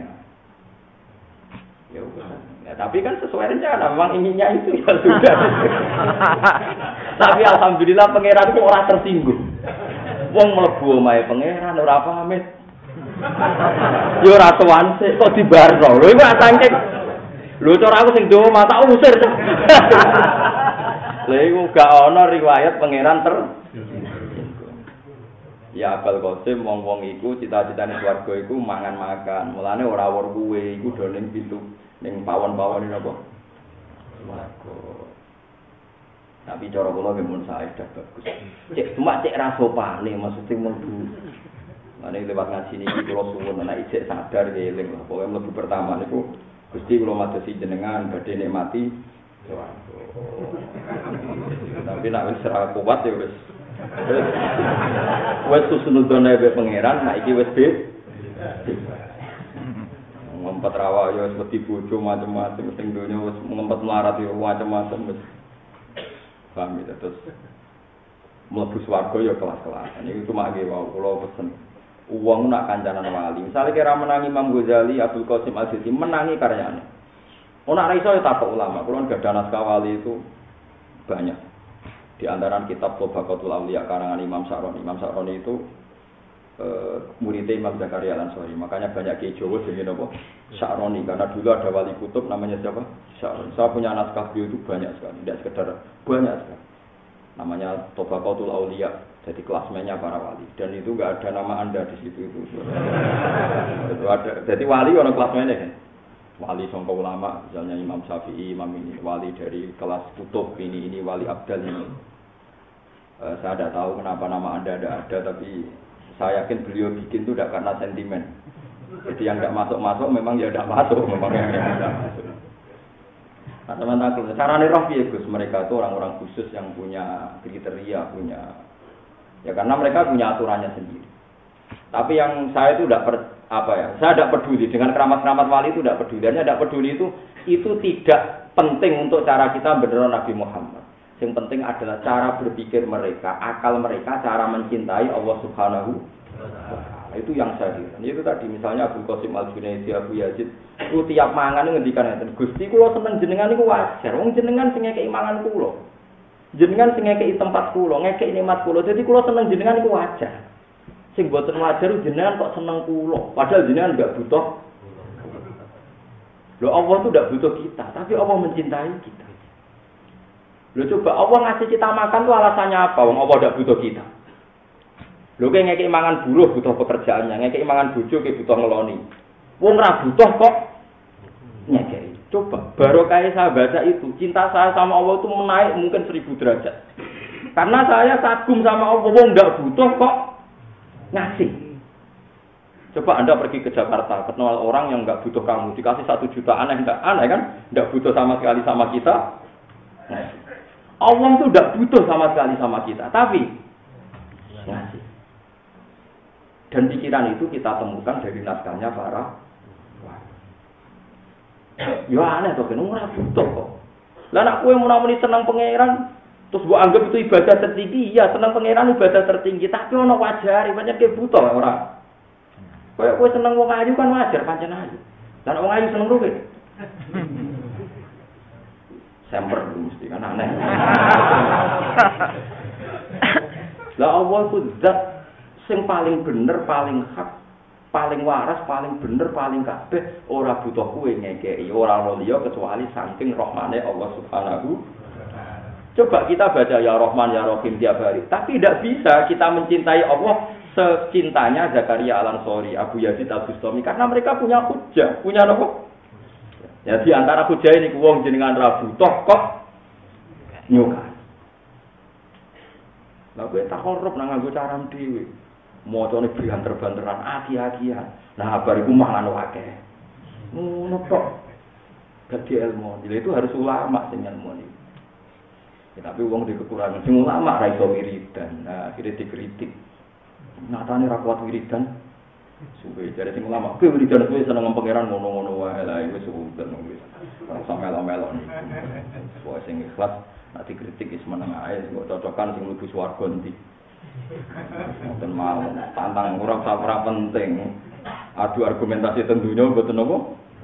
Speaker 1: Ya udah. Ya, tapi kan sesuai rencana, memang inginnya itu ya sudah. Tapi alhamdulillah pangeran itu ora tersinggung. Wong mlebu omahe pangeran ora pamit. Yo ora tuan sik kok dibarno. Lho iku saking. Lho cara aku sing dowo mata usir. Lha iku gak ana riwayat pangeran ter. Ya Abul Qasim wong-wong iku cita-citane swarga iku mangan-makan. Mulane ora wor kuwe iku do ning pintu ning pawon-pawon napa. Swarga. Tapi cara kula nggih mun sae dah bagus. Cek cuma cek ra sopane maksudnya mlebu. Mane lewat ngaji niki kula suwun ana ijek sadar eling. Pokoke mlebu pertama niku Gusti kula madosi jenengan badhe nikmati swarga. Tapi nek wis ora kuat ya wis wes susunudone be pangeran, nah iki wis bet. Ngempet rawa ya wis wedi bojo macam-macam sing donya wis ngempet melarat ya macam-macam wis. Paham ya terus mlebu swarga ya kelas-kelasan. Iki cuma nggih wae kula pesen. Wong nak kancanan wali. Misale kira menangi Imam Ghazali, Abdul Qasim Al-Jilani menangi karyane. Ora iso ya takok ulama. Kula gadah naskah wali itu banyak. Di antara kitab Tabaqatul Auliya karangan Imam Sa'roni. Imam Sa'roni itu e, muridnya Imam Zakaria Al-Ansari. Makanya banyak kiai Jawa jenenge napa? Sa'roni karena dulu ada wali kutub namanya siapa? Sa'roni. Saya punya naskah beliau itu banyak sekali, tidak sekedar banyak sekali. Namanya Tabaqatul Auliya. Jadi kelasmennya para wali dan itu enggak ada nama Anda di situ itu. Itu ada. Jadi wali ono kelasmennya kan. Wali sangka ulama, misalnya Imam Syafi'i, Imam ini, wali dari kelas kutub ini, ini wali abdal ini. Uh, saya tidak tahu kenapa nama Anda ada ada, tapi saya yakin beliau bikin itu tidak karena sentimen. Jadi yang tidak masuk-masuk memang ya tidak masuk, memang yang tidak masuk. Nah teman-teman, caranya roh ya Gus, mereka itu orang-orang khusus yang punya kriteria, punya, ya karena mereka punya aturannya sendiri. Tapi yang saya itu tidak per, apa ya, saya tidak peduli dengan keramat-keramat wali itu tidak peduli. Hanya tidak peduli itu itu tidak penting untuk cara kita benar Nabi Muhammad. Yang penting adalah cara berpikir mereka, akal mereka, cara mencintai Allah Subhanahu wa taala. Itu yang saya lihat. Itu tadi misalnya Abdul Qasim Al-Junaidi, Abu Yazid, itu tiap mangan ngendikan ngeten, Gusti kula seneng jenengan niku wajar. Wong jenengan sing ngekeki mangan kula. Jenengan sing ngekeki tempat kula, ngekeki nikmat kula. Dadi kula seneng jenengan iku wajar. Sing boten wajar jenengan kok seneng kula, padahal jenengan enggak butuh. Loh Allah itu enggak butuh kita, tapi Allah mencintai kita. Loh coba Allah ngasih kita makan tuh alasannya apa? Wong Allah enggak butuh kita. Loh kayak ngekeki mangan buruh butuh pekerjaannya, ngekeki mangan bojo ki butuh ngeloni. Wong ora butuh kok ngekeki. Coba barokah saya baca itu, cinta saya sama Allah itu menaik mungkin seribu derajat. Karena saya kagum sama Allah, wong enggak butuh kok ngasih. Coba Anda pergi ke Jakarta, kenal orang yang enggak butuh kamu, dikasih satu juta, aneh enggak? Aneh kan? Enggak butuh sama sekali sama kita. Ngasih. Allah itu enggak butuh sama sekali sama kita, tapi ngasih. Dan pikiran itu kita temukan dari naskahnya para ya aneh to ben ora butuh kok. Lah nek kowe menawa seneng pangeran, terus mbok anggap itu ibadah tertinggi, ya seneng pangeran ibadah tertinggi, tapi ono wajare, pancen ke butuh ora. Kayak kowe seneng wong ayu kan wajar pancen ayu. Lah nek wong ayu seneng ruwet. Semper mesti kan aneh. Lah Allah ku zat sing paling bener, paling hak, paling waras, paling bener, paling kabeh, ora butuh kowe ngekeki, ora ono liya kecuali saking rahmane Allah Subhanahu. Coba kita baca ya Rahman ya Rahim tiap hari, tapi tidak bisa kita mencintai Allah secintanya Zakaria Al-Ansori, Abu Yazid Al-Bustami, karena mereka punya hujah, punya apa? Ya di antara hujah ini wong jenengan ra butuh kok nyuka. Lah kowe tak korup nang nganggo cara dhewe. Mocone banter-banteran aki-akian. Nah, bar iku malah akeh. Ngono kok. Gak ilmu. Jadi itu harus ulama sing ilmu iki. Ya, tapi wong di kekurangan sing ulama ra iso wiridan. Nah, akhirnya dikritik. Nyatane ra kuat wiridan. Suwe jare sing ulama, kowe wiridan kowe seneng pangeran ngono-ngono wae lah iku sudah wis. Ora usah melo-melo. Soale sing ikhlas nek dikritik wis meneng ae, kok cocokan sing mlebu swarga endi. Mboten mau tantang ora ora penting. Adu argumentasi tentunya mboten napa.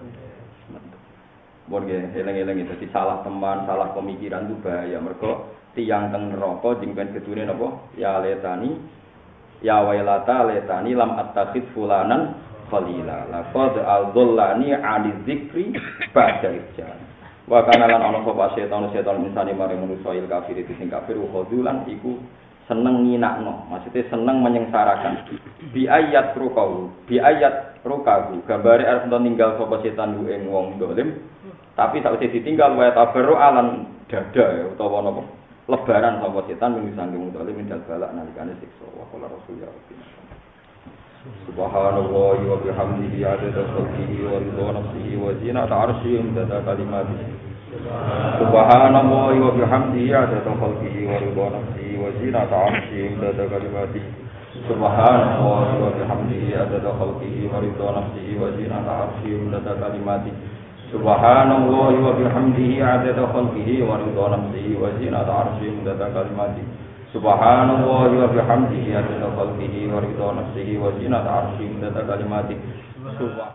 Speaker 1: Bon nggih, eling-eling itu salah teman, salah pemikiran itu bahaya. Mergo tiyang teng neraka jeng ben gedune napa? Ya letani ya wailata letani lam attakhid fulanan khalila. Laqad adzallani 'ani dzikri ba'da ijjan. Wa kana lan ana sapa setan setan insani mare manusa il kafir itu sing kafir khudulan iku seneng nginakno, maksudnya seneng menyengsarakan. Bi ayat rukahu, bi ayat rukahu, gambare arep ninggal sapa setan ku ing wong dolim, tapi sakwise ditinggal wae tabarru alan dada ya utawa napa? Lebaran sapa setan ing sanging wong dolim mindal balak nalikane siksa. Wa qala rasul ya rabbi. Subhanallah wa bihamdihi adada khalqihi wa ridha nafsihi wa zinata 'arsyihi imdada kalimatihi. Subhanallah wa bihamdihi adada khalqihi wa ridha nafsihi wa zinata 'arsyihi imdada kalimatihi. Subhanallah wa bihamdihi adada khalqihi wa ridha nafsihi wa zinata 'arsyihi imdada kalimatihi. Subhanallah wa bihamdihi adada khalqihi wa ridha nafsihi wa zinata 'arsyihi imdada kalimatihi. Subhanallah wa bihamdihi adada khalqihi wa ridha nafsihi wa zinata 'arsyihi imdada kalimatihi.